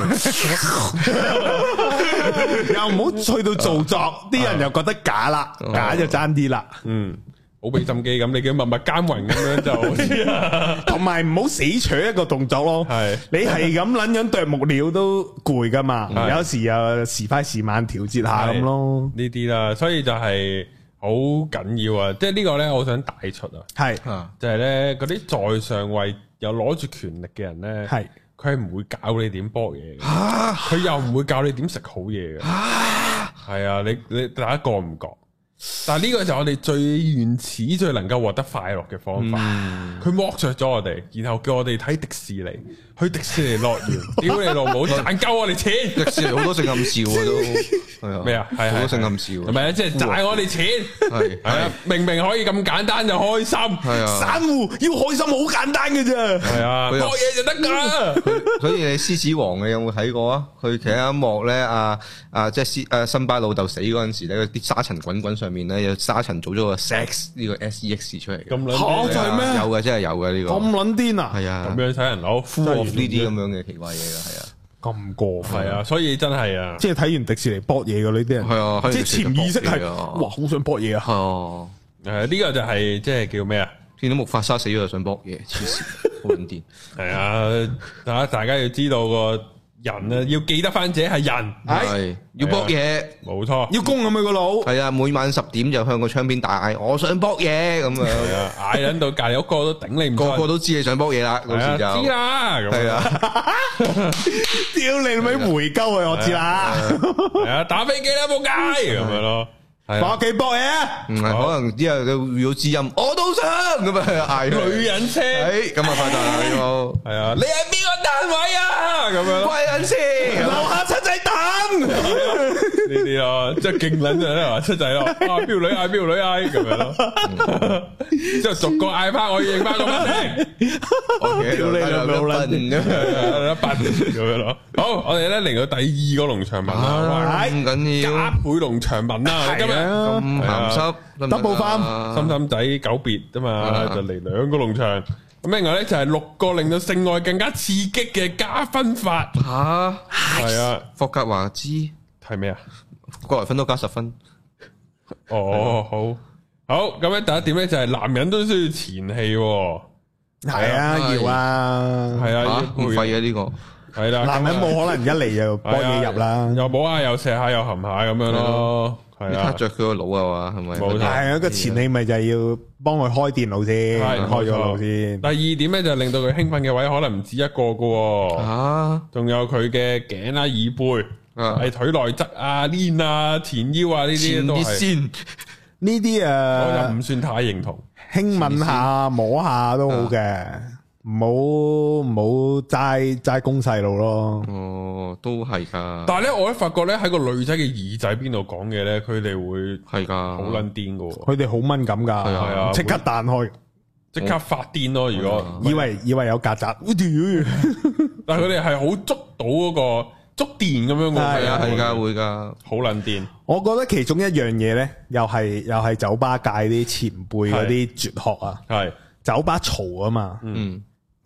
又唔好去到做作，啲人又覺得假啦，假就爭啲啦。 好俾心機咁，你叫默默耕耘咁樣就好啲， 同埋唔好死取一個動作咯。係你係咁撚樣啄木料都攰噶嘛，有時又時快時慢調節下咁咯。 呢啲啦，所以就係好緊要啊！即係呢個咧，我想帶出啊，係就係咧嗰啲在上位又攞住權力嘅人咧，係佢係唔會教你點搏嘢嘅，佢又唔會教你點食好嘢嘅，係啊，你大家覺唔覺？但係呢個就係我哋最原始、最能夠獲得快樂嘅方法。佢剝削咗我哋，然後叫我哋睇迪士尼，去迪士尼樂園。屌你老母，賺夠我哋錢！ 迪士尼好多性暗笑啊，都係啊， 咩啊？係好多性暗笑， 係咪啊？即係賺我哋錢，係啊！明明可以咁簡單就開心，係啊！散戶要開心好簡單嘅啫，係啊，搏嘢就得噶。 所以你獅子王你有冇睇過啊？佢其實一幕咧，即係辛巴老豆死嗰陣時咧，啲沙塵滾滾上面咧，有沙塵做咗個 sex 呢個 sex 出嚟嘅。 咁撚就係咩？ 有嘅，真係有嘅呢個。 咁撚癲啊！ 係啊，咁樣睇人攞 full of 呢啲咁樣嘅奇怪嘢嘅，係啊。 咁過分係啊，所以真係啊， 即係睇完迪士尼搏嘢嘅呢啲人，係啊，即係潛意識係哇，好想搏嘢啊！ 哦， 呢個就係即係叫咩啊？ 見到木法沙死咗就想搏嘢，黐線，好撚癲。 係啊，大家要知道個人啊，要記得翻自己係人， 係要搏嘢， 冇錯， 要攻咁佢個腦。 係啊，每晚10點就向個窗邊大嗌，我想搏嘢咁樣， 嗌緊到隔籬屋個都頂你唔順， 個個都知你想搏嘢啦，嗰時就知啦，係啊， 屌你咪回鳩佢，我知啦， 係啊，打飛機啦，仆街咁樣咯。 翻屋企搏嘢， 唔係可能之後佢遇到知音，我都想咁啊嗌女人車， 咁啊發達啦呢個， 係啊，你係邊個單位啊？咁樣貴人先， 樓下七仔等呢啲咯，即係勁撚就咧話七仔咯，啊飆女嗌飆女嗌咁樣咯，之後逐個嗌翻，我要認翻個名， 屌你兩老撚一百咁樣咯。好，我哋咧嚟到第二個農場文啦， 咁緊要加倍農場文啦，今日咁鹹濕 ，double farm， 心心仔久別啫嘛，就嚟2個農場。咁另外咧就係6個令到性愛更加刺激嘅加分法。 吓， 係啊， 霍格華茲係咩啊？ 過來分都加10分。 哦，好，咁咧第一點咧就係男人都需要前戲。 係啊，要啊， 係啊， 唔廢嘅呢個。 係啦，男人冇可能一嚟就幫嘢入啦， 又摸下又射下又含下咁樣咯，係啊， 着佢個腦啊嘛，係咪？ 冇錯，係啊，個前戲咪就係要幫佢開電腦先，開咗腦先。 第二點咧就令到佢興奮嘅位可能唔止一個噶，仲有佢嘅頸啦、椅背、係腿內側啊、鏈啊、前腰啊呢啲都係。 呢啲我就唔算太認同， 輕吻下、摸下都好嘅。唔好齋攻細路咯。 哦，都係噶。 但係咧，我咧發覺咧喺個女仔嘅耳仔邊度講嘢咧，佢哋會係噶，好撚癲噶。 佢哋好敏感噶，係啊，即刻彈開， 即刻發癲咯。如果以為有曱甴， 但係佢哋係好捉到嗰個觸電咁樣嘅， 係啊，係噶，會噶， 好撚癲。 我覺得其中一樣嘢咧，又係酒吧界啲前輩嗰啲絕學啊，係酒吧嘈啊嘛，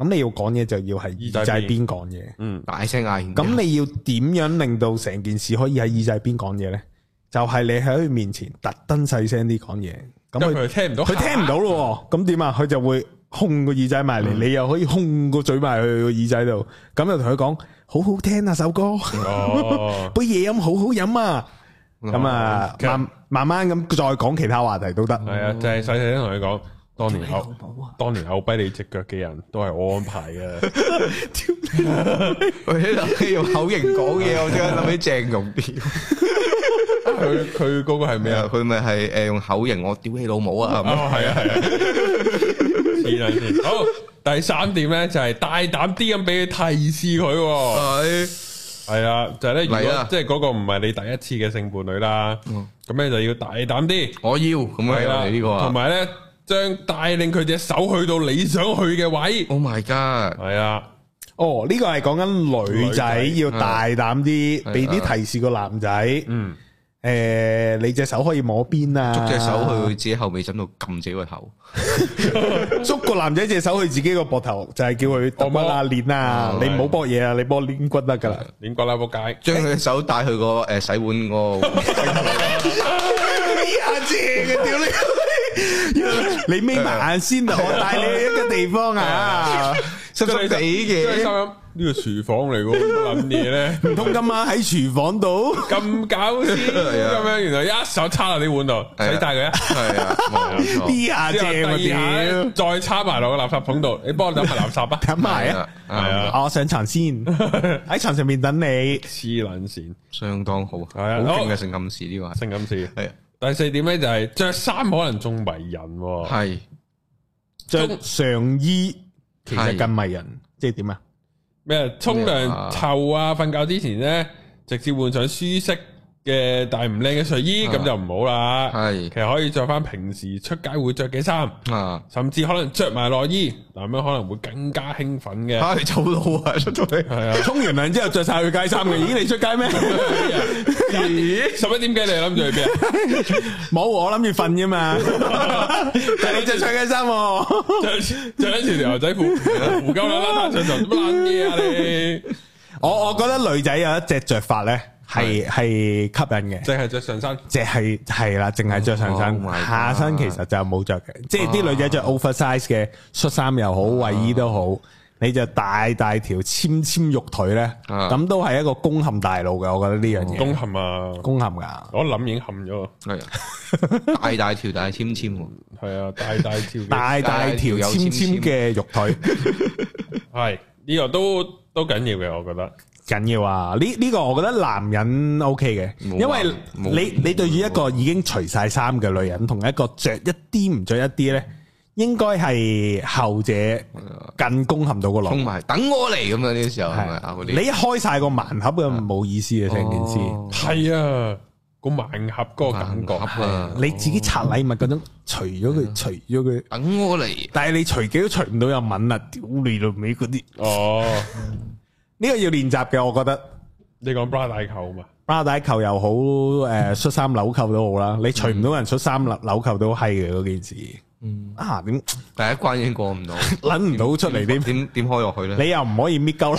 咁你要講嘢就要係耳仔邊講嘢， 大聲嗌。 咁你要點樣令到成件事可以喺耳仔邊講嘢咧？就係你喺佢面前特登細聲啲講嘢，咁佢聽唔到，佢聽唔到咯。咁點啊？佢就會控個耳仔埋嚟，你又可以控個嘴埋去個耳仔度，咁就同佢講好好聽啊首歌，杯嘢飲好好飲啊。咁啊，慢慢咁再講其他話題都得。 係啊，就係細細聲同佢講，當年拗跛你隻腳嘅人都係我安排嘅。 佢喺度用口型講嘢，我即刻諗起鄭融屌。 佢嗰個係咩啊？ 佢咪係用口型，我屌你老母啊！ 係啊。好，第3點咧就係大膽啲咁俾佢提示佢。係啊，就係咧，如果即係嗰個唔係你第一次嘅性伴侶啦，咁你就要大膽啲。 我要咁樣啦，呢個同埋咧，將帶領佢隻手去到你想去嘅位。 Oh my god！ 係啊， 呢個係講緊女仔要大膽啲，俾啲提示個男仔。你隻手可以摸邊啊？ 捉隻手去自己後尾枕度撳自己個頭， 捉個男仔隻手去自己個膊頭，就係叫佢揼乜啊練啊！你唔好搏嘢啊，你搏練骨得噶啦， 練骨啦仆街！ 將佢隻手帶去個洗碗個， 下正嘅屌你！你眯埋眼先啊！我帶你去一個地方啊， 濕濕地嘅。 呢個廚房嚟嘅，諗嘢咧， 唔通今晚喺廚房度咁搞笑咁樣？原來一手插落啲碗度，洗晒佢啊！係啊， B 下正啊！ 再插埋落個垃圾桶度，你幫我抌埋垃圾啊！ 抌埋啊！係啊，我上床先，喺床上面等你。 黐撚線， 相當好，係啊， 好勁嘅性暗示呢個， 性暗示係。第4點咧就係着衫可能仲迷人， 係着上衣其實更迷人，即係點啊？ 咩？沖涼臭啊！瞓覺之前咧，直接換上舒適嘅但係唔靚嘅睡衣，咁就唔好啦。係，其實可以着翻平時出街會着嘅衫，甚至可能着埋內衣，嗱咁樣可能會更加興奮嘅。 係走路啊，出到嚟係啊！ 沖完涼之後着晒去街衫嘅，咦？你出街咩 ？11點幾你諗住去邊啊？ 冇，我諗住瞓啫嘛。但係你着上街衫， 着一條牛仔褲，胡鳩啦啦，上床乜撚嘢啊你？ 我覺得女仔有一隻着法咧。係吸引嘅， 淨係着上身， 係啦，淨係着上身，下身其實就冇着嘅。即係啲女仔着 oversize 嘅恤衫又好，衛衣都好，你就大條纖肉腿咧，咁都係一個攻陷大路嘅。我覺得呢樣嘢攻陷啊， 攻陷噶， 我諗已經陷咗。 係大條但係纖，係啊，大條纖嘅肉腿， 係呢個都緊要嘅，我覺得。 緊要啊！呢個我覺得男人 OK 嘅，因為你對住一個已經除晒衫嘅女人，同一個着一啲唔着一啲咧，應該係後者更攻陷到個腦。 埋等我嚟咁樣呢個時候係咪啊？ 你一開晒個盲盒嘅冇意思嘅成件事。 係啊，個盲盒嗰個感覺啊， 你自己拆禮物嗰種除咗佢， 等我嚟。 但係你除幾都除唔到有吻啊！屌你老味嗰啲哦。呢個要練習嘅，我覺得。 你講 bra 帶扣嘛 ？bra 帶扣又好，恤衫紐扣都好啦。你除唔到人恤衫紐扣都係嘅嗰件事。點第一關已經過唔到， 諗唔到出嚟點開落去咧？ 你又唔可以搣鳩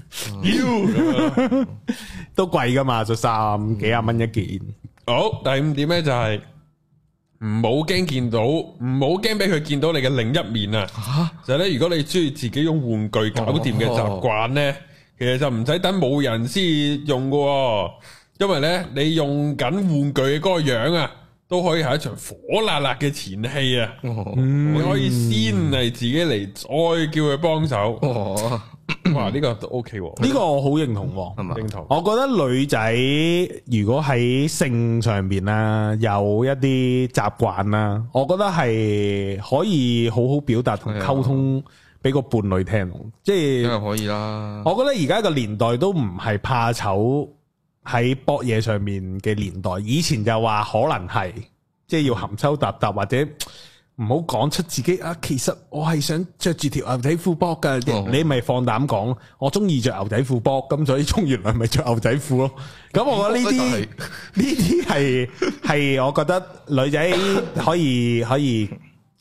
爛，都貴噶嘛？恤衫幾廿蚊一件。 好，第5點咧就係唔好驚見到，唔好驚俾佢見到你嘅另一面啊！就係咧，如果你中意自己用玩具搞掂嘅習慣咧。其實就唔使等冇人先用嘅，因為咧你用緊玩具嘅嗰個樣啊，都可以係一場火辣辣嘅前戲啊！你可以先嚟自己嚟，再叫佢幫手。哇，呢個都 OK， 呢個我好認同，係咪？ 認同。 我覺得女仔如果喺性上邊啦，有一啲習慣啦，我覺得係可以好好表達同溝通。俾個伴侶聽，即係可以啦。 我覺得而家個年代都唔係怕醜喺搏嘢上面嘅年代，以前就話可能係，即係要含羞答答或者唔好講出自己啊。其實我係想着住條牛仔褲波噶，你咪放膽講，我中意着牛仔褲波，咁所以沖完涼咪着牛仔褲咯。咁我覺得呢啲係我覺得女仔可以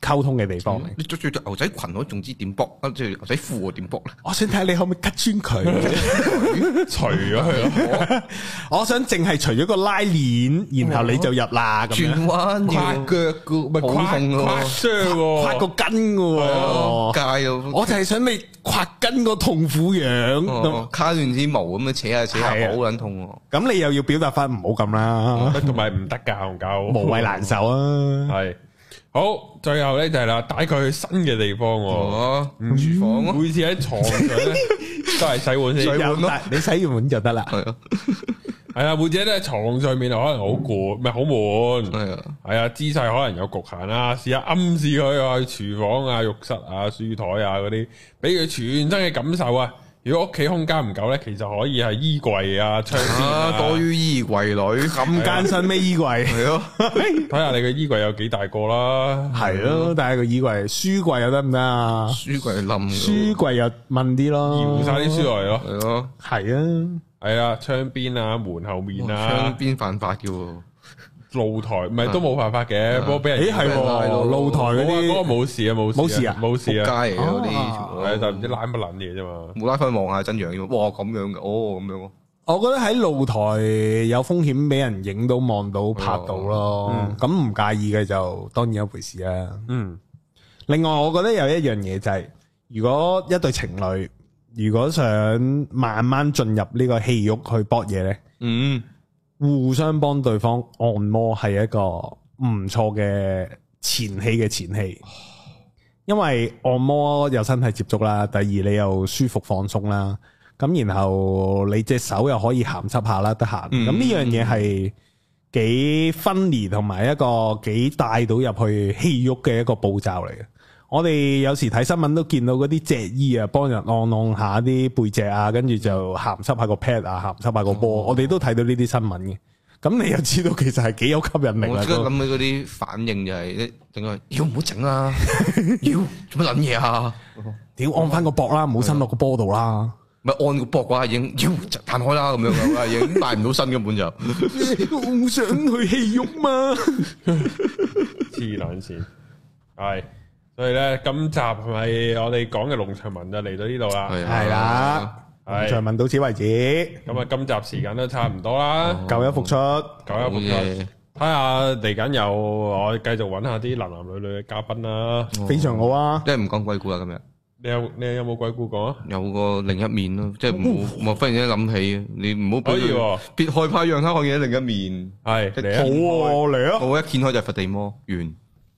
溝通嘅地方嚟。 你着住條牛仔裙我仲知點卜，跟住牛仔褲我點卜咧？ 我想睇下你可唔可以 cut 穿佢， 除咗佢咯。 我想淨係除咗個拉鏈，然後你就入啦咁樣。 轉彎跨腳嘅，咪跨傷跨個筋嘅， 界咯。 我就係想你跨筋個痛苦樣， 卡斷啲毛咁樣扯下好撚痛。 咁你又要表達翻唔好咁啦， 同埋唔得噶，戇鳩， 無謂難受啊。係。 好，最後咧就係啦，帶佢去新嘅地方，廚房，每次喺床上咧都係洗碗先， 洗碗咯，你洗完碗就得啦。 係啊，每次咧喺床上面可能好攰，唔係好悶，係啊，姿勢可能有局限啦，試下暗示佢去廚房啊、浴室啊、書台啊嗰啲，俾佢全身嘅感受啊。如果屋企空間唔夠咧，其實可以係衣櫃啊、窗邊啊， 多於衣櫃裏咁艱辛咩？衣櫃係咯， 睇下你嘅衣櫃有幾大個啦。 係咯，但係個衣櫃、書櫃又得唔得啊？ 書櫃冧， 書櫃又問啲咯， 搖晒啲書落嚟咯。 係咯， 係啊， 係啊，窗邊啊、門後面啊， 窗邊犯法嘅。 露台唔係都冇辦法嘅，不過俾人係露台嗰啲嗰個冇事啊，冇事啊，冇事啊， 街嚟嗰啲， 係但唔知拉乜撚嘢啫嘛， 冇拉翻望下真樣，哇咁樣嘅，哦咁樣。 我覺得喺露台有風險俾人影到、望到、拍到咯，咁唔介意嘅就當然一回事啦。另外我覺得有一樣嘢就係，如果一對情侶如果想慢慢進入呢個戲肉去搏嘢咧，互相幫對方按摩係一個唔錯嘅前戲嘅前戲，因為按摩有身體接觸啦，第二你又舒服放鬆啦，咁然後你隻手又可以鹹濕下啦，得閒，咁呢樣嘢係幾分離同埋一個幾帶到入去戲肉嘅一個步驟嚟嘅。我哋有時睇新聞都見到嗰啲脊醫啊，幫人按下啲背脊啊，跟住就鹹濕下個 pad 啊，鹹濕下個波，我哋都睇到呢啲新聞嘅。咁你又知道其實係幾有吸引力啊！ 我即刻諗起嗰啲反應就係，整個要唔好整啊，要做乜撚嘢啊？ 屌按翻個膊啦，唔好伸落個波度啦。 咪按個膊嘅話，已經要彈開啦，咁樣嘅，已經帶唔到身根本就。 我唔想去戲肉嘛， 黐撚線，係。所以咧，今集係咪我哋講嘅農場文就嚟到呢度啦？ 係啦，農場文到此為止。 咁啊，今集時間都差唔多啦， 舊一復出， 舊一復出。睇下嚟緊有我繼續揾下啲男男女女嘅嘉賓啦， 非常好啊！ 即係唔講鬼故啦，今日。 你有冇鬼故講啊？ 有個另一面咯，即係唔好，我忽然間諗起，你唔好俾佢別害怕，讓他看見另一面。係， 好嚟啊！ 我一掀開就係佛地魔完。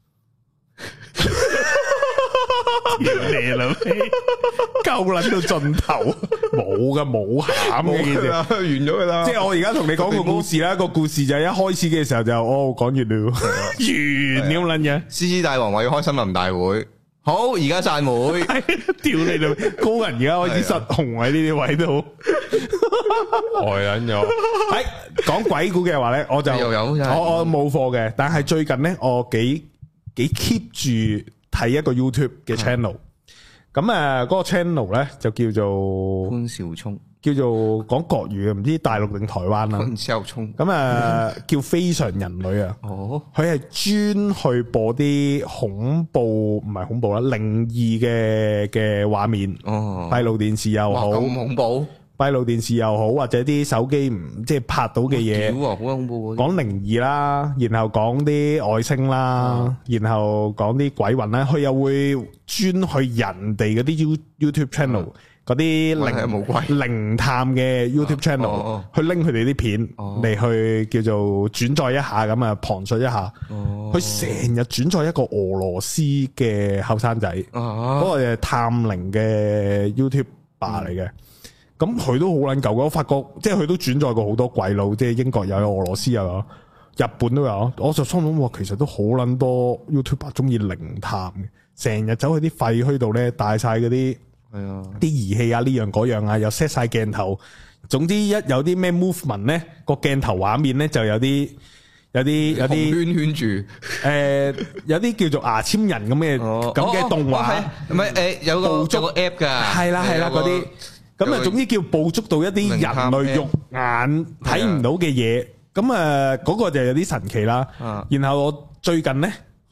你老味，夠捻到盡頭，冇噶，冇餡嘅件事， 完咗噶啦。 即係我而家同你講個故事啦，個故事就係一開始嘅時候就講完了，完咁捻嘢。 獅子大王話要開森林大會，好，而家散會， 屌你老，高人而家開始失控喺呢啲位度， 呆捻咗。 喺講鬼故嘅話咧，我就我冇貨嘅，但係最近咧，我幾 keep 住睇一個 YouTube 嘅 channel，咁嗰個 channel 咧就叫做潘少聰， 叫做講國語嘅，唔知大陸定台灣啦。 潘少聰， 咁叫非常人類啊。哦，佢係專去播啲恐怖，唔係恐怖啦，靈異嘅畫面。哦，閉路電視又好， 咁恐怖。 閉路電視又好，或者啲手機唔即係拍到嘅嘢， 好恐怖。 講靈異啦，然後講啲外星啦，然後講啲鬼魂啦，佢又會專去人哋嗰啲 YouTube channel 嗰啲靈探嘅 YouTube channel 去拎佢哋啲片嚟去叫做轉載一下咁啊，旁述一下。佢成日轉載一個俄羅斯嘅後生仔，嗰個係探靈嘅 YouTuber 嚟嘅。咁佢都好撚舊嘅，我發覺即係佢都轉載過好多鬼佬，即係英國又有，俄羅斯又有，日本都有。我就心諗，其實都好撚多 YouTuber 中意靈探嘅，成日走去啲廢墟度咧，帶晒嗰啲啲儀器啊，呢樣嗰樣啊，又 set 晒鏡頭。總之一有啲咩 movement 咧，個鏡頭畫面咧就有啲圈住， 有啲叫做牙籤人咁嘅動畫， 唔係有個 app 噶， 係啦嗰啲。咁啊，總之叫捕捉到一啲人類肉眼睇唔到嘅嘢，咁嗰個就有啲神奇啦。然後我最近咧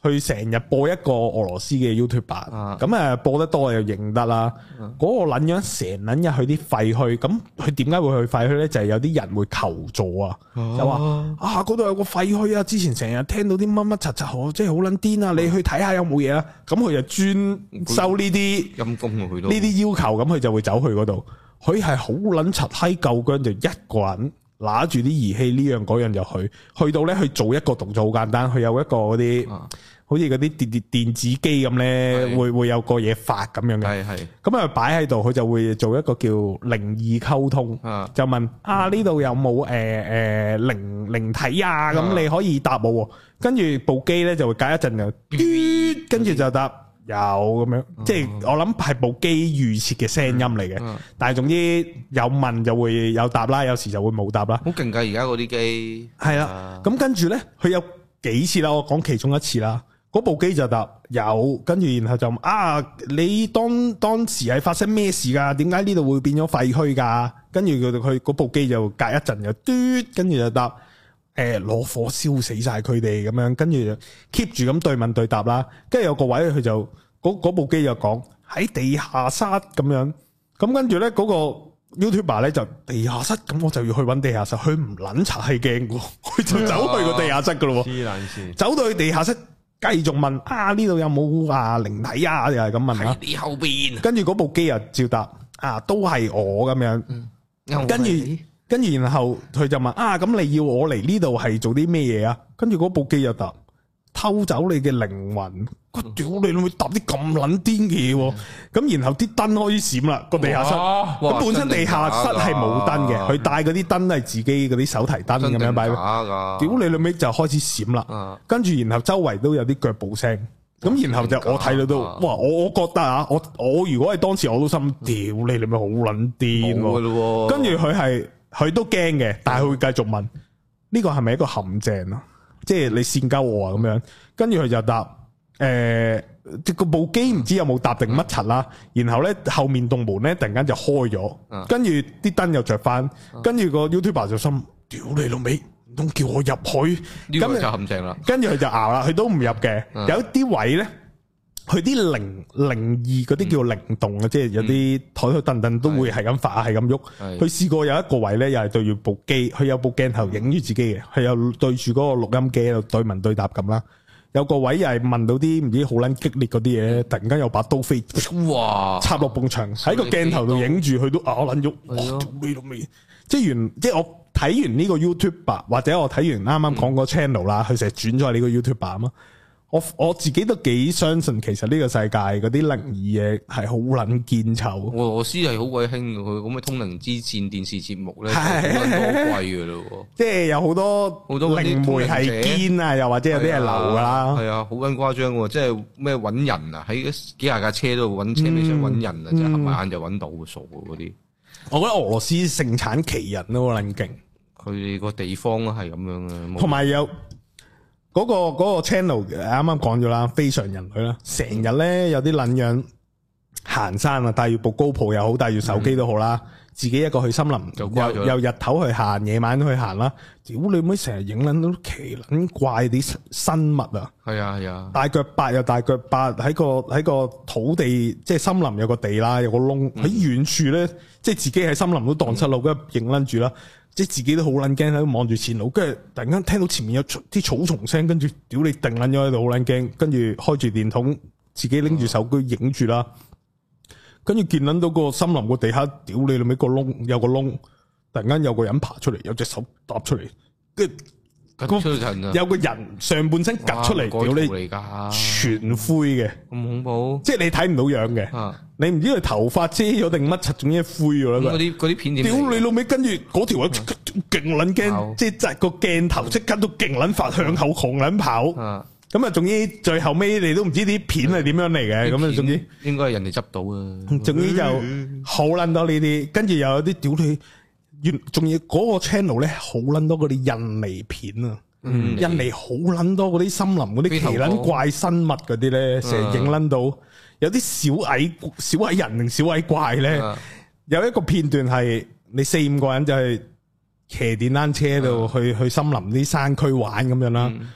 佢成日播一個俄羅斯嘅 YouTuber， 咁播得多又認得啦。嗰個撚樣成撚日去啲廢墟，咁佢點解會去廢墟咧？就係有啲人會求助啊，就話嗰度有個廢墟啊，之前成日聽到啲乜乜柒柒，即係好撚癲啊！你去睇下有冇嘢啊？咁佢就專收呢啲陰功啊，佢都呢啲要求，咁佢就會走去嗰度。佢係好撚柒閪夠薑，就一個人拿住啲儀器呢樣嗰樣就去到咧去做一個動作好簡單，佢有一個嗰啲。好似嗰啲電子機咁咧，會有個嘢發咁樣嘅，咁啊擺喺度，佢就會做一個叫靈異溝通，就問呢度有冇靈體啊？咁你可以答我，跟住部機咧就會隔一陣就嘟，跟住就答有咁樣，即係我諗係部機預設嘅聲音嚟嘅，但係總之有問就會有答啦，有時就會冇答啦。好勁㗎，而家嗰啲機係啦，咁跟住咧佢有幾次啦，我講其中一次啦。嗰部機就答有，跟住然後就你當時係發生咩事噶？點解呢度會變咗廢墟噶？跟住佢嗰部機就隔一陣就嘟，跟住就答攞火燒死晒佢哋咁樣，跟住就 keep 住咁對問對答啦。跟住有個位佢就嗰部機就講喺地下室咁樣，咁跟住咧嗰個 YouTuber 咧就地下室，咁我就要去揾地下室，佢唔撚查係驚嘅，佢就走去個地下室噶咯，黐撚線，走到去地下室。繼續問呢度有冇靈體啊？又係咁問啦。你後邊，跟住嗰部機又照答都係我咁樣。跟住然後佢就問咁你要我嚟呢度係做啲咩嘢啊？跟住嗰部機又答偷走你嘅靈魂。我屌你會答啲咁撚癲嘅嘢，咁然後啲燈開始閃啦，個地下室。咁本身地下室係冇燈嘅，佢帶嗰啲燈係自己嗰啲手提燈咁樣擺。屌你老尾就開始閃啦，跟住然後周圍都有啲腳步聲，咁然後就我睇到都哇，我覺得我如果係當時我都心屌你老尾好撚癲，跟住佢都驚嘅，但係佢會繼續問呢個係咪一個陷阱啊？即係你線鳩我啊咁樣，跟住佢就答。個部機唔知有冇答定乜柒啦，然後咧後面棟門咧突然間就開咗，跟住啲燈又着翻，跟住個 YouTuber 就心屌你老味，唔通叫我入去？呢個就陷阱啦。跟住佢就熬啦，佢都唔入嘅。有啲位咧，佢啲靈異嗰啲叫靈動啊，即係有啲台台凳凳都會係咁發，係咁喐。佢試過有一個位咧，又係對住部機，佢有部鏡頭影住自己嘅，佢又對住嗰個錄音機喺度對問對答咁啦。有個位又係問到啲唔知好撚激烈嗰啲嘢，突然間有把刀飛，哇！插落埲牆，喺個鏡頭度影住佢都撚喐，即係我睇完呢個 YouTuber 或者我睇完啱啱講個 channel 啦，佢成日轉咗係呢個 YouTuber 啊嘛。我自己都幾相信，其實呢個世界嗰啲靈異嘢係好撚堅臭。俄羅斯係好鬼興嘅，佢咁嘅通靈之戰電視節目咧，好撚多貴嘅咯。即係有好多靈媒係堅啊，又或者有啲係流噶啦。係啊，好撚誇張嘅，即係咩揾人啊，喺幾廿架車度揾車尾箱揾人啊，就合埋眼就揾到傻嗰啲。我覺得俄羅斯盛產奇人都好撚勁，佢哋個地方係咁樣嘅，同埋有。嗰個 channel 啱啱講咗啦，非常人類啦，成日咧有啲撚樣行山啊，帶住部 GoPro又好，帶住手機都好啦，自己一個去森林，又日頭去行，夜晚都去行啦。屌你妹，成日影撚到奇撚怪啲生物啊！係啊係啊，大腳八又大腳八，喺個土地，即係森林有個地啦，有個窿喺遠處咧，即係自己喺森林都蕩失路，跟住影撚住啦。即係自己都好撚驚喺度望住前路，跟住突然間聽到前面有啲草叢聲，跟住屌你定撚咗喺度好撚驚，跟住開住電筒，自己拎住手機影住啦，跟住見撚到個森林個地下，屌你老味個窿有個窿，突然間有個人爬出嚟，有隻手搭出嚟，跟住有個人上半身趌出嚟，屌你全灰嘅，咁恐怖，即係你睇唔到樣嘅，你唔知佢頭髮遮咗定乜柒，總之灰咗啦。嗰啲片點？屌你老味，跟住嗰條友即刻勁撚驚，即係個鏡頭即刻都勁撚發向後狂撚跑。咁啊，總之最後尾你都唔知啲片係點樣嚟嘅，咁啊，總之應該係人哋執到啊。總之就好撚多呢啲，跟住又有啲屌你。仲要嗰個 channel 咧，好撚多嗰啲印尼片啊，印尼好撚多嗰啲森林嗰啲奇撚怪生物嗰啲咧，成日影撚到有啲小矮人定小矮怪咧，有一個片段係你4-5個人就係騎電單車度去森林啲山區玩咁樣啦，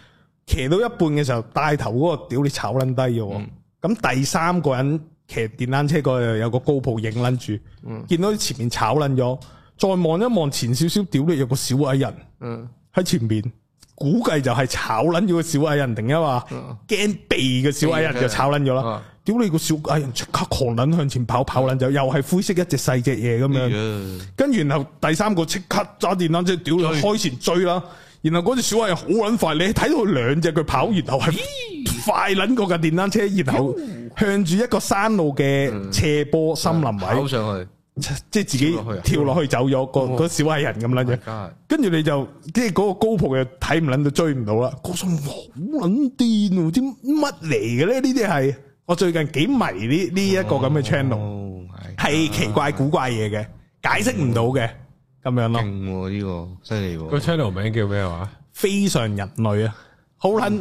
騎到一半嘅時候，帶頭嗰個屌你炒撚低嘅，咁第三個人騎電單車嗰度有個高普影撚住，見到前面炒撚咗，再望一望前少少，屌你有個小矮人喺前面，估計就係炒撚咗個小矮人，定係話驚避嘅小矮人就炒撚咗啦。屌你個小矮人即刻狂撚向前跑撚走，又係灰色一隻細隻嘢咁樣，跟住然後第三個即刻揸電單車，屌你開前追啦。然後嗰隻小矮人好撚快，你睇到佢兩隻佢跑，然後係快撚過架電單車，然後向住一個山路嘅斜坡森林位跑上去， 即係自己跳落去走咗個小矮人咁撚嘅。跟住你就即係嗰個高普又睇唔撚到追唔到啦。嗰種好撚癲，知乜嚟嘅咧？呢啲係我最近幾迷呢一個咁嘅 channel， 係奇怪古怪嘢嘅，解釋唔到嘅。咁樣咯，勁呢個犀利喎！ 個 channel 名叫咩話？ 非常人類啊，好撚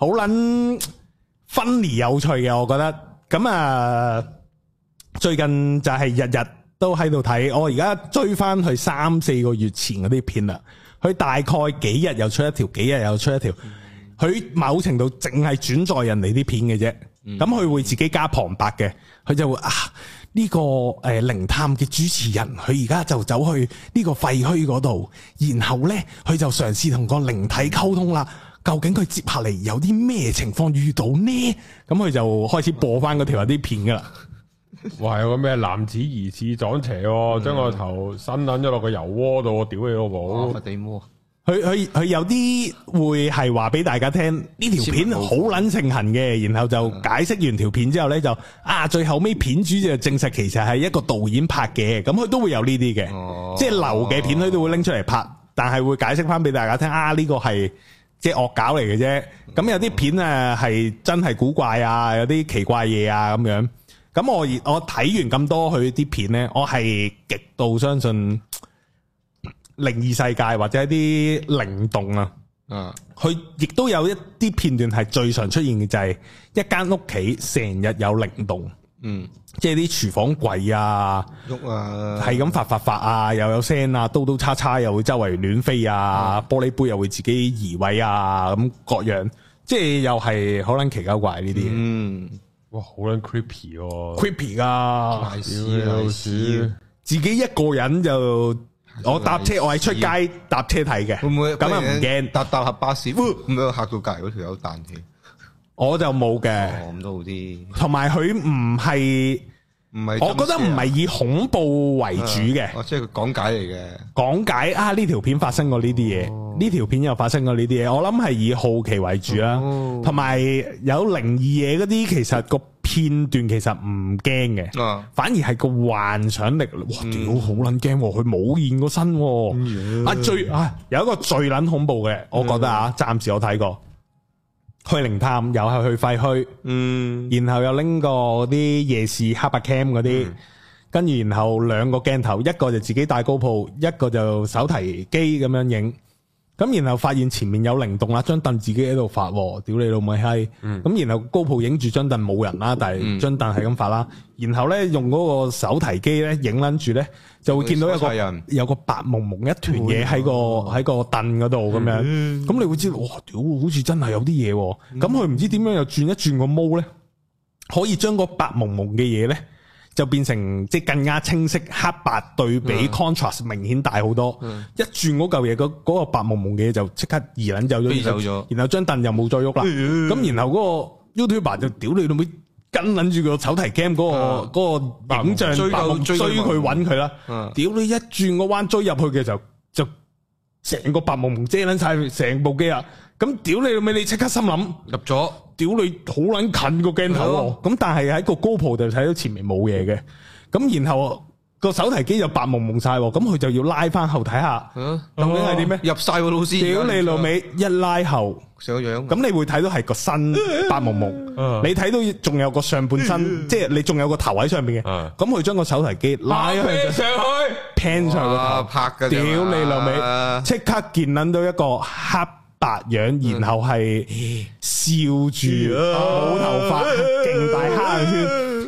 funny 有趣嘅，我覺得。咁啊，最近就係日日都喺度睇，我而家追翻去3-4個月前嗰啲片啦。佢大概幾日又出一條，幾日又出一條。佢某程度淨係轉載人哋啲片嘅啫。咁佢會自己加旁白嘅，佢就會呢個靈探嘅主持人，佢而家就走去呢個廢墟嗰度，然後呢，佢就嘗試同個靈體溝通啦。究竟佢接下嚟有啲咩情況遇到呢？咁佢就開始播翻嗰條啲片噶啦。 哇！有個咩男子疑似撞邪，將個頭伸撚咗落個油鍋度，屌你老母！ 佛地魔。 佢有啲會係話俾大家聽呢條片好撚盛行嘅，然後就解釋完條片之後呢，就最後尾片主就證實其實係一個導演拍嘅，咁佢都會有呢啲嘅，即係流嘅片佢都會拎出嚟拍，但係會解釋翻俾大家聽呢個係即係惡搞嚟嘅啫。咁有啲片係真係古怪啊，有啲奇怪嘢啊咁樣。咁我睇完咁多佢啲片呢，我係極度相信靈異世界或者一啲靈動啊，佢亦都有一啲片段係最常出現嘅，就係一間屋企成日有靈動，即係啲廚房櫃啊，喐啊，係咁發啊，又有聲啊，刀刀叉叉又會周圍亂飛啊，玻璃杯又會自己移位啊，咁各樣，即係又係好撚奇鳩怪呢啲， 哇，好撚 creepy 喎 ，creepy 噶，自己一個人就。我搭車，我係出街搭車睇嘅，會唔會咁啊？唔驚搭下巴士，咁樣嚇到隔籬嗰條友彈起， 我就冇嘅， 咁都好啲。同埋佢唔係，我覺得唔係以恐怖為主嘅， 即係佢講解嚟嘅， 講解呢條片發生過呢啲嘢，呢條片又發生過呢啲嘢，我諗係以好奇為主啦。同埋有靈異嘢嗰啲，其實個片段其實唔驚嘅，反而係個幻想力，哇！屌好撚驚，佢冇現過身，最有一個最撚恐怖嘅，我覺得暫時我睇過，去靈探又係去廢墟，然後又拎個啲夜視黑白 cam 嗰啲，跟住然後兩個鏡頭，一個就自己帶 GoPro，一個就手提機咁樣影。咁然後發現前面有靈動啦，張凳自己喺度發，屌你老味閪！咁然後高鋪影住張凳冇人啦，但係張凳係咁發啦。然後咧用嗰個手提機咧影撚住咧，就會見到有個白蒙蒙一團嘢喺個凳嗰度咁樣。咁你會知道，哇！屌，好似真係有啲嘢。咁佢唔知點樣又轉一轉個毛咧，可以將個白蒙蒙嘅嘢咧，就變成即係更加清晰，黑白對比 contrast 明顯大好多。一轉嗰嚿嘢，嗰個白蒙蒙嘅嘢就即刻移撚走咗，然後張凳又冇再喐啦。咁然後嗰個 YouTuber 就屌你老味，跟撚住個手提 cam 嗰個影像白蒙追佢揾佢啦。屌你一轉個彎追入去嘅時候，就成個白蒙蒙遮撚晒成部機啊！咁屌你老味，你即刻心諗入咗。 屌你好撚近個鏡頭，咁但係喺個 GoPro就睇到前面冇嘢嘅，咁然後個手提機就白蒙蒙晒，咁佢就要拉翻後睇下，究竟係點咩？ 入晒個老師， 屌你老味，一拉後上樣， 咁你會睇到係個身白蒙蒙，你睇到仲有個上半身，即係你仲有個頭喺上邊嘅，咁佢將個手提機拉上去，pan 上個頭拍嘅， 屌你老味，即刻見撚到一個黑白樣，然後係笑住冇頭髮，勁大黑眼圈，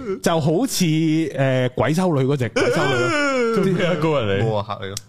就好似鬼修女嗰隻鬼修女咯， 啲高人嚟， 冇話嚇你咯，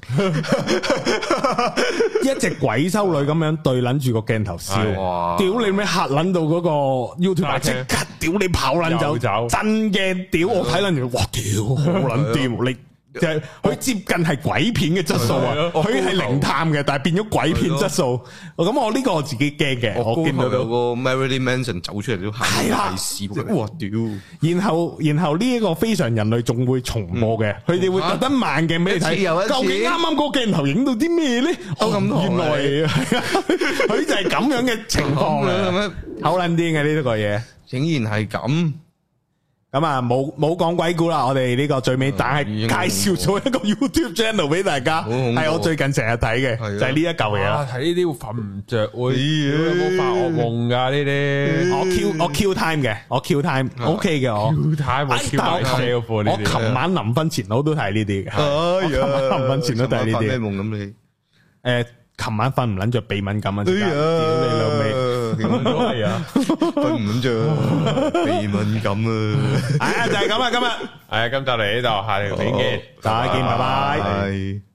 一隻鬼修女咁樣對撚住個鏡頭笑，屌你咩嚇撚到嗰個 YouTube 即刻屌你跑撚走，真嘅屌我睇撚住，哇屌好撚掂你。就係佢接近係鬼片嘅質素啊！佢係靈探嘅，但係變咗鬼片質素。咁我呢個我自己驚嘅，我見到有個 Marilyn Manson 走出嚟都係啦，哇屌！ 然後呢一個非常人類仲會重播嘅，佢哋會特登慢鏡俾你睇，究竟啱啱個鏡頭影到啲咩咧？原來佢就係咁樣嘅情況啊！好撚癲嘅呢個嘢， 竟然係咁。 咁啊，冇講鬼故啦，我哋呢個最尾，但係介紹咗一個 YouTube channel 俾大家，係我最近成日睇嘅，就係呢一嚿嘢啦。睇呢啲會瞓唔着，有冇發惡夢噶呢啲？我 Q time 嘅，我 Q time OK 嘅，我 Q time 我琴晚臨瞓前我都睇呢啲嘅，琴晚臨瞓前都睇呢啲。 咩夢咁你？ 琴晚瞓唔捻着，鼻敏感啊！屌你老味， 係啊，瞓唔捻着，鼻敏感啊！ 係啊，就係咁啊，今日係啊，今集嚟呢度，下條片見， 大家見，拜拜。